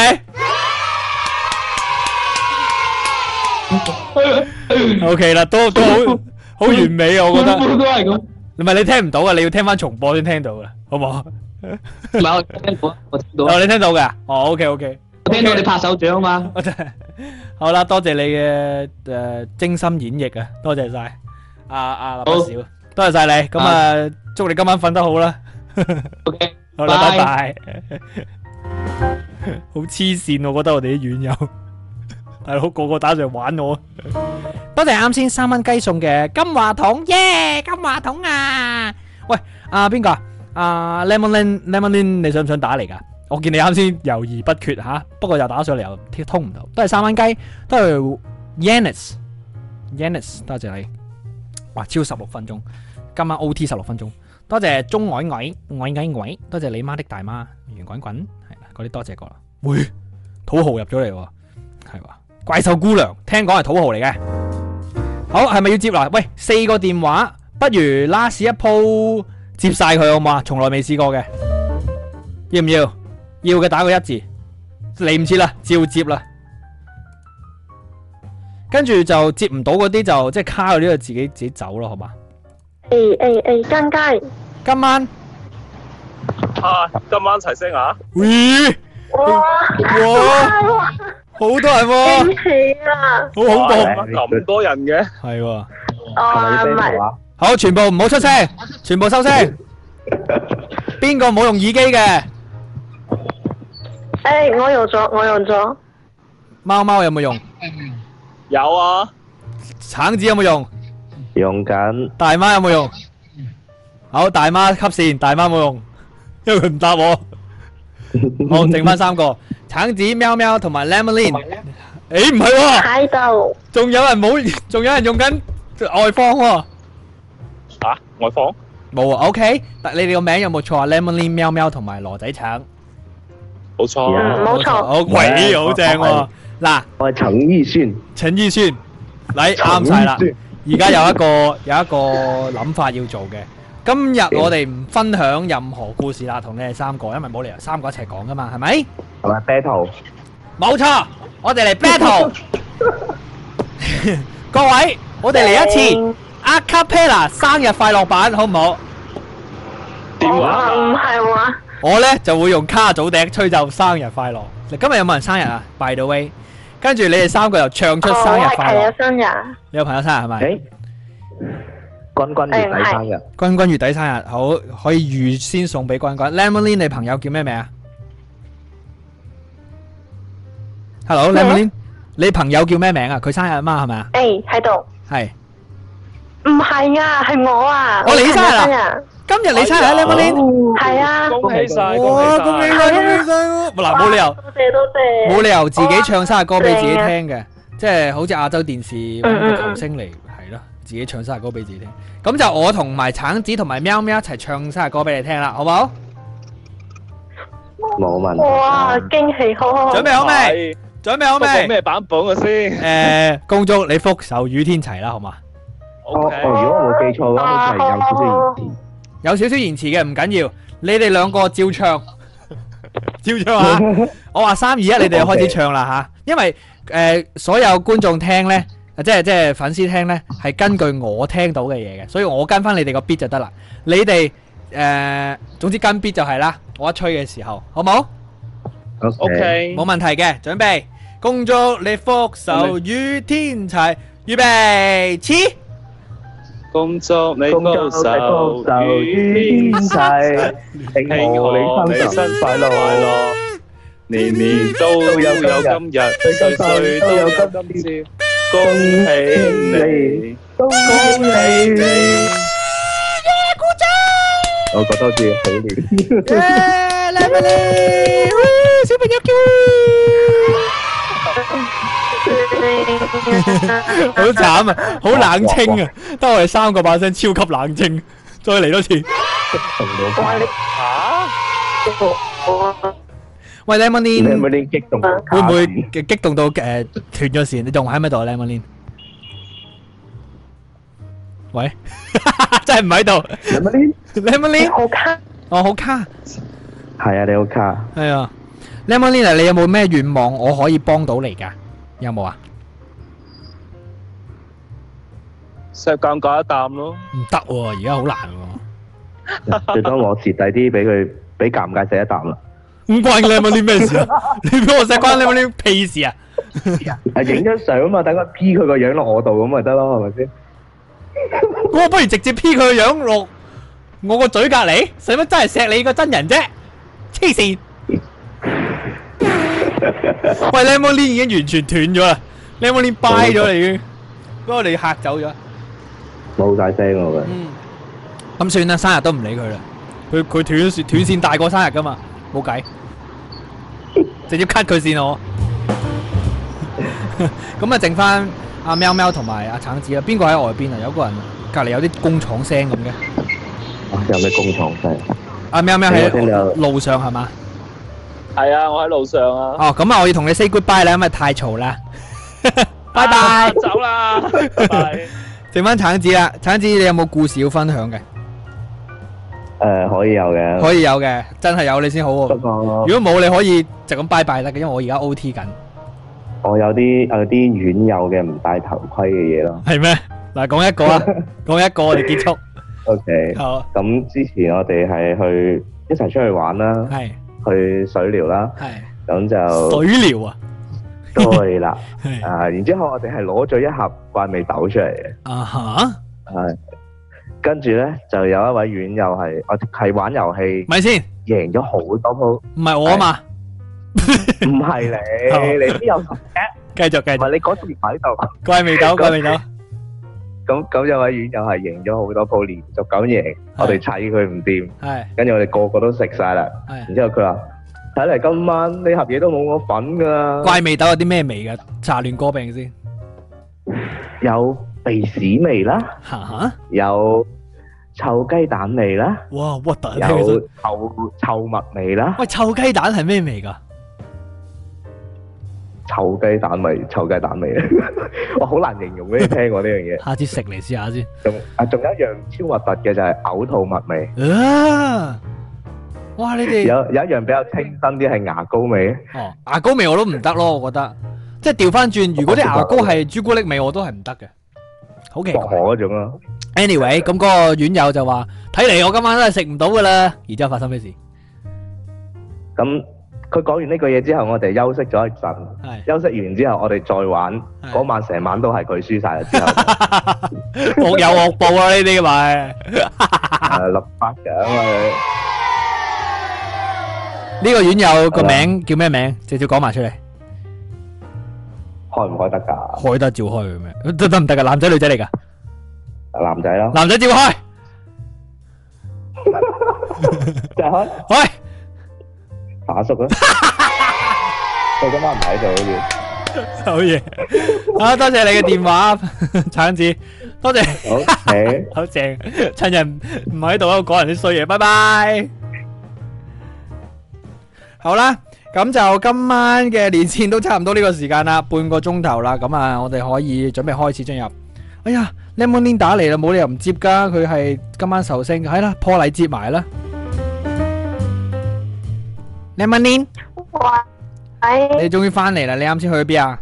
你。OK 啦，都好完美啊，我覺得。 都係咁。 唔係你聽唔到啊，你要聽翻重播先聽到噶，好唔好？ 唔係我聽到，我聽到。 哦，你聽到嘅？哦 ，OK。 我聽到你拍手掌啊嘛。 好啦，多謝你嘅精心演繹啊，多謝晒。蠟筆小，多謝晒你。咁啊，祝你今晚瞓得好啦。 OK。 好啦，拜拜。好黐線，我覺得我哋啲院友，大佬個個打上嚟玩我。多謝啱先3蚊雞送嘅金話筒，耶！金話筒啊！喂，邊個啊？Lemonlin，你想唔想打嚟噶？我見你啱先猶豫不決吓，不過又打上嚟又通唔到。都係3蚊雞，都係 Yannis，多謝你。哇，超16分鐘，今晚 OT 16分鐘。多謝鐘偉，多謝你媽的大媽，圓滾滾，係啦，嗰啲多謝過啦。喂，土豪入咗嚟喎，係話怪獸姑娘，聽講係土豪嚟嘅。好，係咪要接啦？喂，4個電話，不如 last 一鋪接晒佢好嘛？從來未試過嘅，要唔要？要嘅打個1字，嚟唔切啦，照接啦。跟住就接唔到嗰啲就即係卡嗰啲就自己走咯，好嘛？ 間街。 今晚今晚齊聲啊！ 喂！哇！好多人喎！ 驚喜啊！ 好恐怖！ 咁多人嘅。 係喎。 唔係。 好，全部唔好出聲，全部收聲。邊個冇用耳機嘅？ 我用咗。 貓有冇用？ 有啊。 橙子有冇用？ 用緊。 大媽有冇用？好，大媽吸線，大媽冇用，因為佢唔答我。好，剩翻3個，橙子、喵喵同埋 Lemonlin。誒，唔係喎。 喺度。 仲有人用緊外放喎。 外放？ 冇啊 ，OK。但你哋個名有冇錯啊 ？Lemonlin、喵喵同埋羅仔橙。 冇錯。 冇錯。 好，喂，好正喎。嗱， 我係陳奕迅。 嚟啱晒啦。而家有一個諗法要做嘅。今日我哋唔分享任何故事啦，同你哋3個，因為冇理由3個一齊講噶嘛，係咪？ 係咪 battle？ 冇錯，我哋嚟 battle。各位，我哋嚟一次 Acapella 生日快樂版，好唔好？ 點話？ 唔係話。 我呢就會用卡祖笛吹奏生日快樂。今日有冇人生日啊 ？By the way， 跟住你哋3個又唱出生日快樂。 我係生日。 你有朋友生日係咪？ 君君月底生日。 君君月底生日，好，可以預先送俾君君。Lemonlin， 你朋友叫咩名啊 ？Hello Lemonlin， 你朋友叫咩名啊？佢生日啊嘛，係咪啊？ 喺度。 係。 唔係啊，係我啊。 我你生日啊？今日你生日啊 Lemonlin？ 係啊。 恭喜晒！ 哇，恭喜晒！嗱，冇理由。 多謝。 冇理由自己唱生日歌俾自己聽嘅，即係好似亞洲電視揾個球星嚟，係咯，自己唱生日歌俾自己聽。咁就我同埋橙子同埋喵喵一齊唱生日歌俾你聽啦，好唔好？ 冇問題。 哇，驚喜好！ 準備好未？準備好未？ 咩版本嘅先？ 恭祝你福壽與天齊啦，好嘛？ 如果我冇記錯嘅話，好似係有少少延遲。 有少少延遲嘅唔緊要，你哋2個照唱。 照唱啊！我話3、2、1，你哋開始唱啦吓，因為所有觀眾聽咧，即係粉絲聽咧，係根據我聽到嘅嘢嘅，所以我跟翻你哋個 beat 就得啦。你哋總之跟 beat 就係啦，我一吹嘅時候，好冇 ？OK， 冇問題嘅，準備，恭祝你福壽與天齊，預備，起！ 恭祝你福壽與天齊，慶賀你生日快樂，年年都有今日，歲歲都有今朝，恭喜你，恭喜你！ 鼓掌！ 我覺得好似好亂。 小朋友叫。 好慘啊，好冷清啊，得我哋3個把聲超級冷清，再嚟多次。喂 ，Lemonine， 激動會唔會激動到斷咗線？你仲喺唔喺度啊 ，Lemonine？喂，真係唔喺度。Lemonine， 好卡。 哦，好卡。 係啊，你好卡。 係啊 ，Lemonine，你有冇咩願望我可以幫到你㗎？有冇啊？ 錫尷尬一啖咯。 唔得喎，而家好難喎。 最多我蝕底啲俾佢，俾尷尬錫一啖啦。 唔關你Lemonine咩事啊？你俾我錫關Lemonine屁事啊？ 係影張相啊嘛，等佢 P 佢個樣落我度咁咪得咯，係咪先？ 我不如直接 P 佢個樣落我個嘴隔離，使乜真係錫你個真人啫？黐線！喂 ，Lemonine 已經完全斷咗啦 ，Lemonine 掰咗啦已經，俾我哋嚇走咗。 冇晒聲我嘅。 咁算啦，生日都唔理佢啦。佢斷線大過生日噶嘛，冇計，直接 cut 佢線我。咁啊，剩翻阿喵喵同埋阿橙子啦。邊個喺外邊啊？有個人隔離有啲工廠聲咁嘅。 有咩工廠聲？ 阿喵喵喺路上係嘛？ 係啊，我喺路上啊。 哦，咁啊，我要同你 say goodbye 啦，因為太嘈啦。拜拜， 走啦，拜拜。 剩翻橙子啦，橙子你有冇故事要分享嘅？ 可以有嘅。 可以有嘅，真係有你先好喎。如果冇，你可以就咁拜拜得嘅，因為我而家 OT 緊。 我有啲院友嘅唔戴頭盔嘅嘢咯。 係咩？嗱，講一個啊，講一個我哋結束。 OK。好。咁之前我哋係一齊出去玩啦。係。去水療啦。係。咁就。水療啊？ 對啦。然之後我哋係攞咗一盒怪味豆出嚟嘅。啊哈。係。跟住咧就有一位院友係玩遊戲，咪先贏咗好多鋪。 唔係我啊嘛。 唔係你邊有同嘅？繼續。唔係你嗰時唔喺度。 怪味豆。 咁有位院友係贏咗好多鋪，連續咁贏，我哋砌佢唔掂。係。跟住我哋個個都食晒啦。係。然之後佢話：睇嚟今晚呢盒嘢都冇我份噶。怪味豆有啲咩味噶？查亂歌病先。有鼻屎味啦。嚇！有臭雞蛋味啦。哇！核突。有臭物味啦。 喂，臭雞蛋係咩味噶？ 臭雞蛋味，我好難形容俾你聽喎呢樣嘢。 下次食嚟試下先。 仲有一樣超核突嘅就係嘔吐物味。 哇！你哋有一樣比較清新啲係牙膏味。 哦，牙膏味我都唔得咯，我覺得。即係調翻轉，如果啲牙膏係朱古力味，我都係唔得嘅。好奇怪。嗰種咯。Anyway，咁嗰個院友就話：睇嚟我今晚都係食唔到噶啦。然之後發生咩事？ 咁。佢講完呢句嘢之後，我哋休息咗一陣。休息完之後，我哋再玩。嗰晚成晚都係佢輸晒啦。之後惡有惡報啊！呢啲咪立法獎啊！ 呢個院友個名叫咩名？直接講埋出嚟。 開唔開得㗎？ 開得照開嘅咩？得唔得㗎？男仔女仔嚟㗎？ 男仔咯。 男仔照開。 就開。 開。 打叔啊！佢今晚唔喺度好似。 好嘢！好多謝你嘅電話，橙子，多謝。好，好正，趁人唔喺度喺度講人啲衰嘢，拜拜。好啦，咁就今晚嘅連線都差唔多呢個時間啦，半個鐘頭啦，咁啊，我哋可以準備開始進入。哎呀 ，Lemonine 打嚟啦，冇理由唔接噶，佢係今晚壽星，係啦，破例接埋啦。 Lemonine， 喂， 你終於翻嚟啦！你啱先去咗邊啊？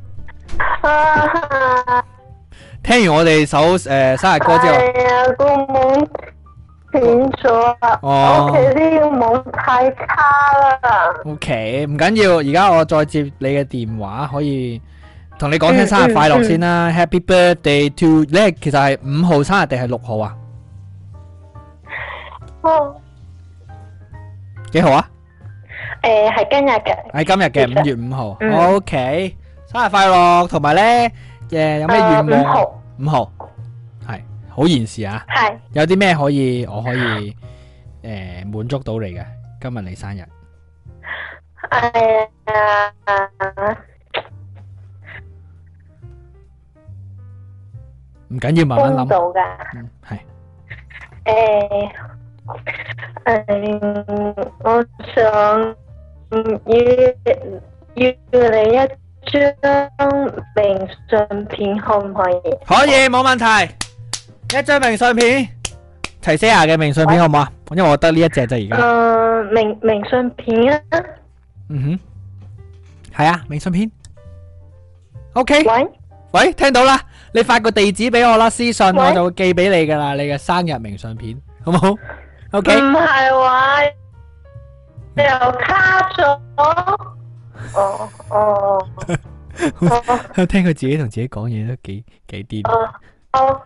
聽完我哋首生日歌之後， 係啊，個網斷咗啊！ 哦屋企呢個網太差啦。 OK，唔緊要，而家我再接你嘅電話，可以同你講聲生日快樂先啦。Happy birthday to 你，其實係5號生日定係6號啊？幾號啊？ 係今日嘅。 係今日嘅5月5號。OK，生日快樂，同埋咧，有咩願望？5號係好現時啊。 係。有啲咩我可以滿足到你嘅？今日你生日。唔緊要，慢慢諗。 到㗎。 係。 我想要你一張明信片，可唔可以？ 可以，冇問題。一張明信片，齊 Sir 嘅明信片好唔好啊？因為我得呢一隻啫而家。 明信片啊。 嗯哼，係啊，明信片。OK。 喂， 聽到啦，你發個地址俾我啦，私信我就會寄俾你噶啦，你嘅生日明信片，好唔好？OK。 唔係話又卡咗。 聽佢自己同自己講嘢都幾癲。 好。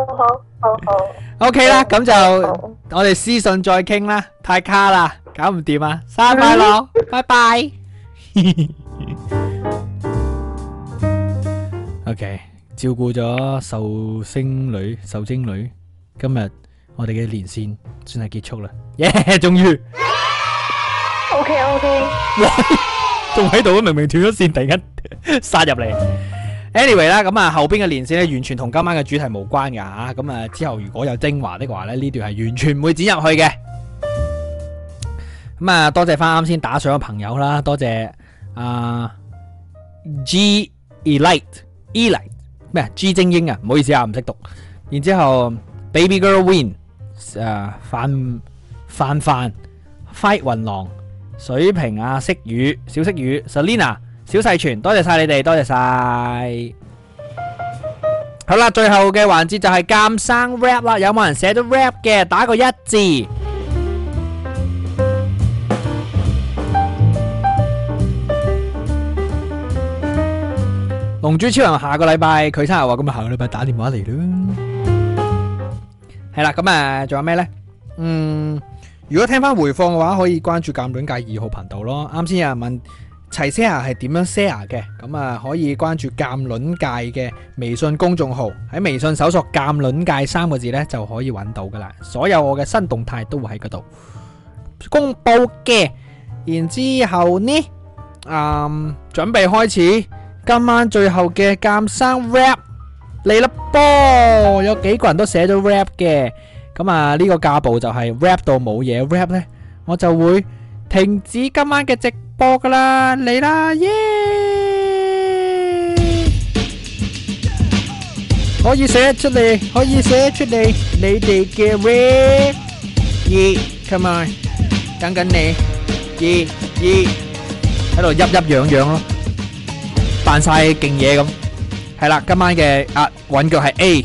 OK 啦，咁就我哋私信再傾啦，太卡啦，搞唔掂啊！生日快樂，拜拜。OK， 照顧咗壽星女、壽精女，今日我哋嘅連線算係結束啦，耶！終於。 OK。 哇，仲喺度，明明斷咗線，突然間殺入嚟。Anyway 啦，咁啊後邊嘅連線咧完全同今晚嘅主題無關噶吓，咁啊之後如果有精華的話咧，呢段係完全唔會剪入去嘅。咁啊多謝翻啱先打賞嘅朋友啦，多謝G Elite 咩 G 精英啊，唔好意思啊，唔識讀。然之後 Baby Girl Win 范 Fight 雲狼水瓶啊色雨小色雨 Selina 小細全，多謝晒你哋，多謝晒。好啦，最後嘅環節就係鑑生 rap 啦，有冇人寫咗 rap 嘅？打個1字。龍珠超人下個禮拜佢生日話，咁啊下個禮拜打電話嚟咯。係啦，咁啊仲有咩呢？如果聽翻回放嘅話，可以關注鑑論界2號頻道咯。啱先有人問齊 share 係點樣 share 嘅，咁啊可以關注鑑論界嘅微信公眾號，喺微信搜索鑑論界3個字呢，就可以揾到噶啦。所有我嘅新動態都會喺嗰度公布嘅。然之後呢，準備開始今晚最後嘅鑑生 rap 嚟啦噃，有幾個人都寫咗 rap 嘅，咁啊呢個架步就係 rap 到冇嘢 rap 呢，我就會停止今晚嘅直播噶啦，嚟啦耶！可以寫出嚟，可以寫出嚟，你哋嘅 rap， come on， 等緊你，喺度噏樣樣咯。扮晒勁嘢咁，係啦，今晚嘅韻腳係 A，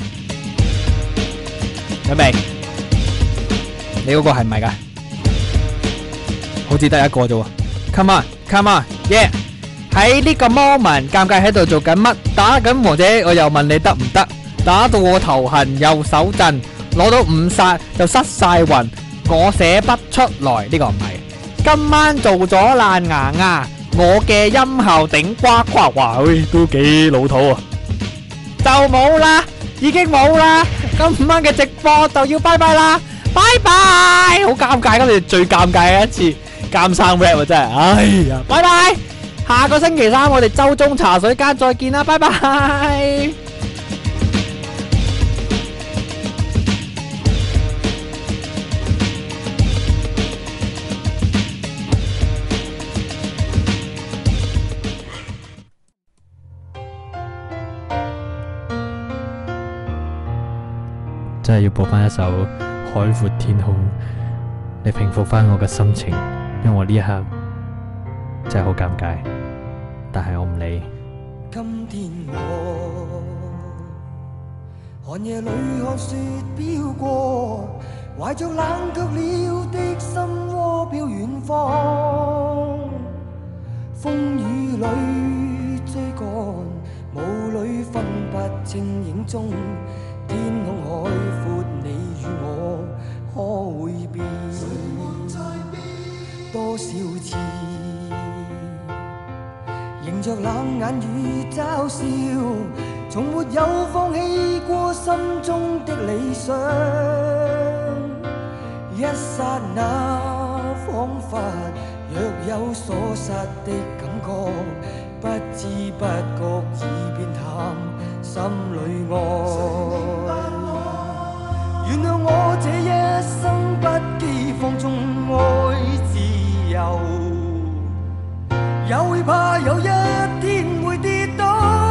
準備，你嗰個係唔係噶？好似得一個啫喎 ，Come on， yeah！ 喺呢個 moment， 尷尬喺度做緊乜？打緊王者，我又問你得唔得？打到我頭痕右手震，攞到5殺就失晒魂，我寫不出來，呢個唔係。今晚做咗爛牙。我嘅音效頂呱呱，哇，都幾老土啊！就冇啦，已經冇啦，今晚嘅直播就要拜拜啦，拜拜！好尷尬，今次最尷尬嘅一次鑑生 rap 啊，真係，哎呀，拜拜！下個星期3我哋周中茶水間再見啦，拜拜！真係要播翻一首《海闊天空》嚟平復翻我嘅心情，因為我呢一刻真係好尷尬，但係我唔理。 今天我寒夜裏看雪飄過，懷着冷卻了的心窩飄遠方，風雨裏追趕，霧裏分不清影蹤，天空海闊，你與我可會變？多少次迎着冷眼與嘲笑，從沒有放棄過心中的理想。一剎那彷彿若有所失的感覺，不知不覺已變淡心裏愛。原諒我這一生不羈放縱愛自由，也會怕有一天會跌倒。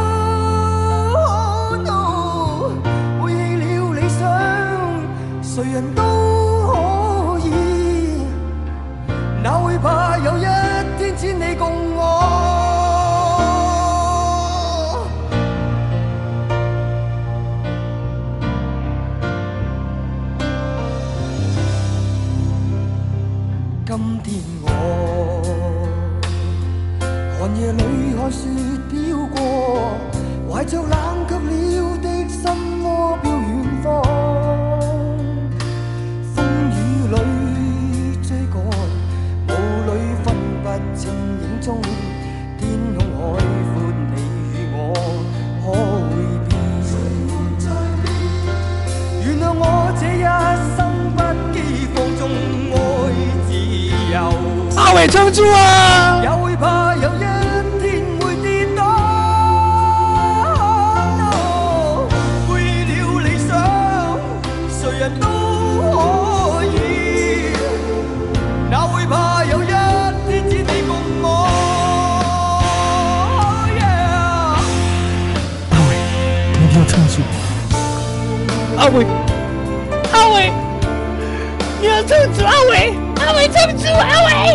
背棄了理想，誰人都可以，哪會怕有一天只你共我。今天我寒夜裏看雪飄過，懷着冷卻了的心窩飄遠方，風雨裏追趕，霧裏分不清影蹤，天空海闊，你與我可會變？原諒我這一生不羈放縱愛自由。 阿偉撐住啊！ 也會怕有一天會跌倒。背棄了理想，誰人都可以，哪會怕有一天只你共我。 阿偉，你一定要撐住！ 阿偉，阿偉，你要撐住！阿偉，阿偉撐住！阿偉。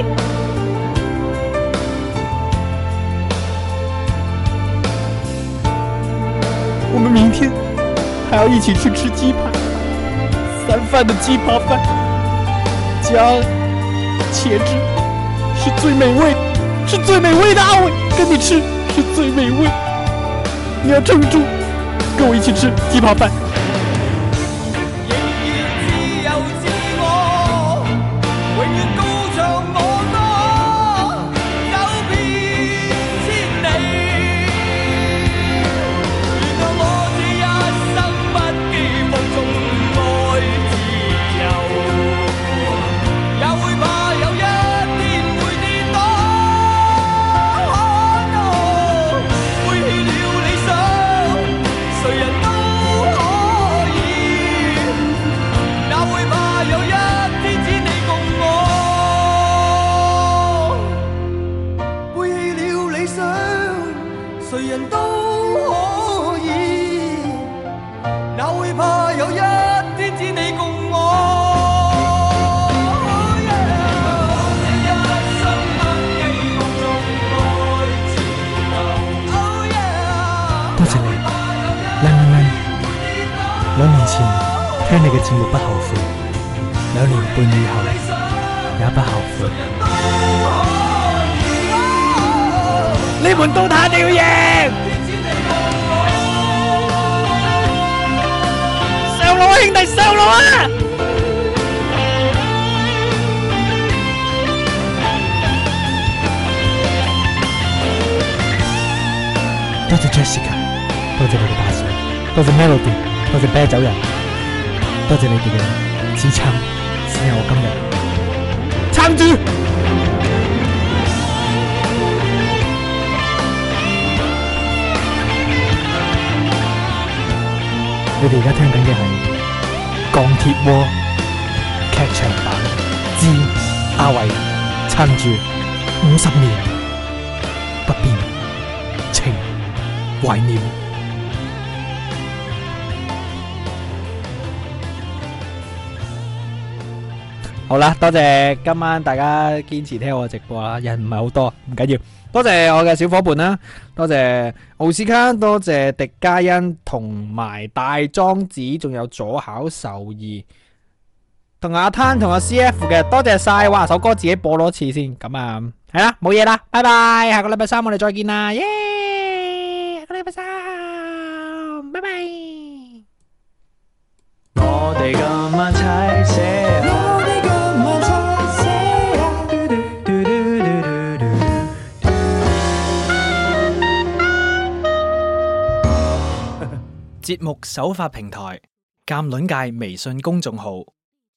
我们明天还要一起去吃鸡排，3饭的鸡扒饭，加茄汁，是最美味，是最美味的。阿伟，跟你吃是最美味，你要撑住，跟我一起吃鸡扒饭。2年前聽你嘅節目不後悔，2年半以後也不後悔。 你們都打掉贏！上路啊，兄弟，上路啊！ 多謝 Jessica， 多謝你嘅打賞，多謝 Melody， 多謝啤酒人，多謝你哋嘅支撐，先有我今日撐住。你哋而家聽緊嘅係鋼鐵窩劇場版之阿偉撐住50年不變情懷念。 好啦，多謝今晚大家堅持聽我直播啦，人唔係好多，唔緊要。多謝我嘅小伙伴啦，多謝奧斯卡，多謝迪嘉欣同埋大莊子，仲有左考獸二，同阿灘同阿 CF 嘅，多謝晒。哇，首歌自己播多次先，咁啊，係啦，冇嘢啦，拜拜，下個禮拜三我哋再見啦，耶！下個禮拜三，拜拜。 我哋今晚齊寫。節目首發平台：鑑論界微信公眾號。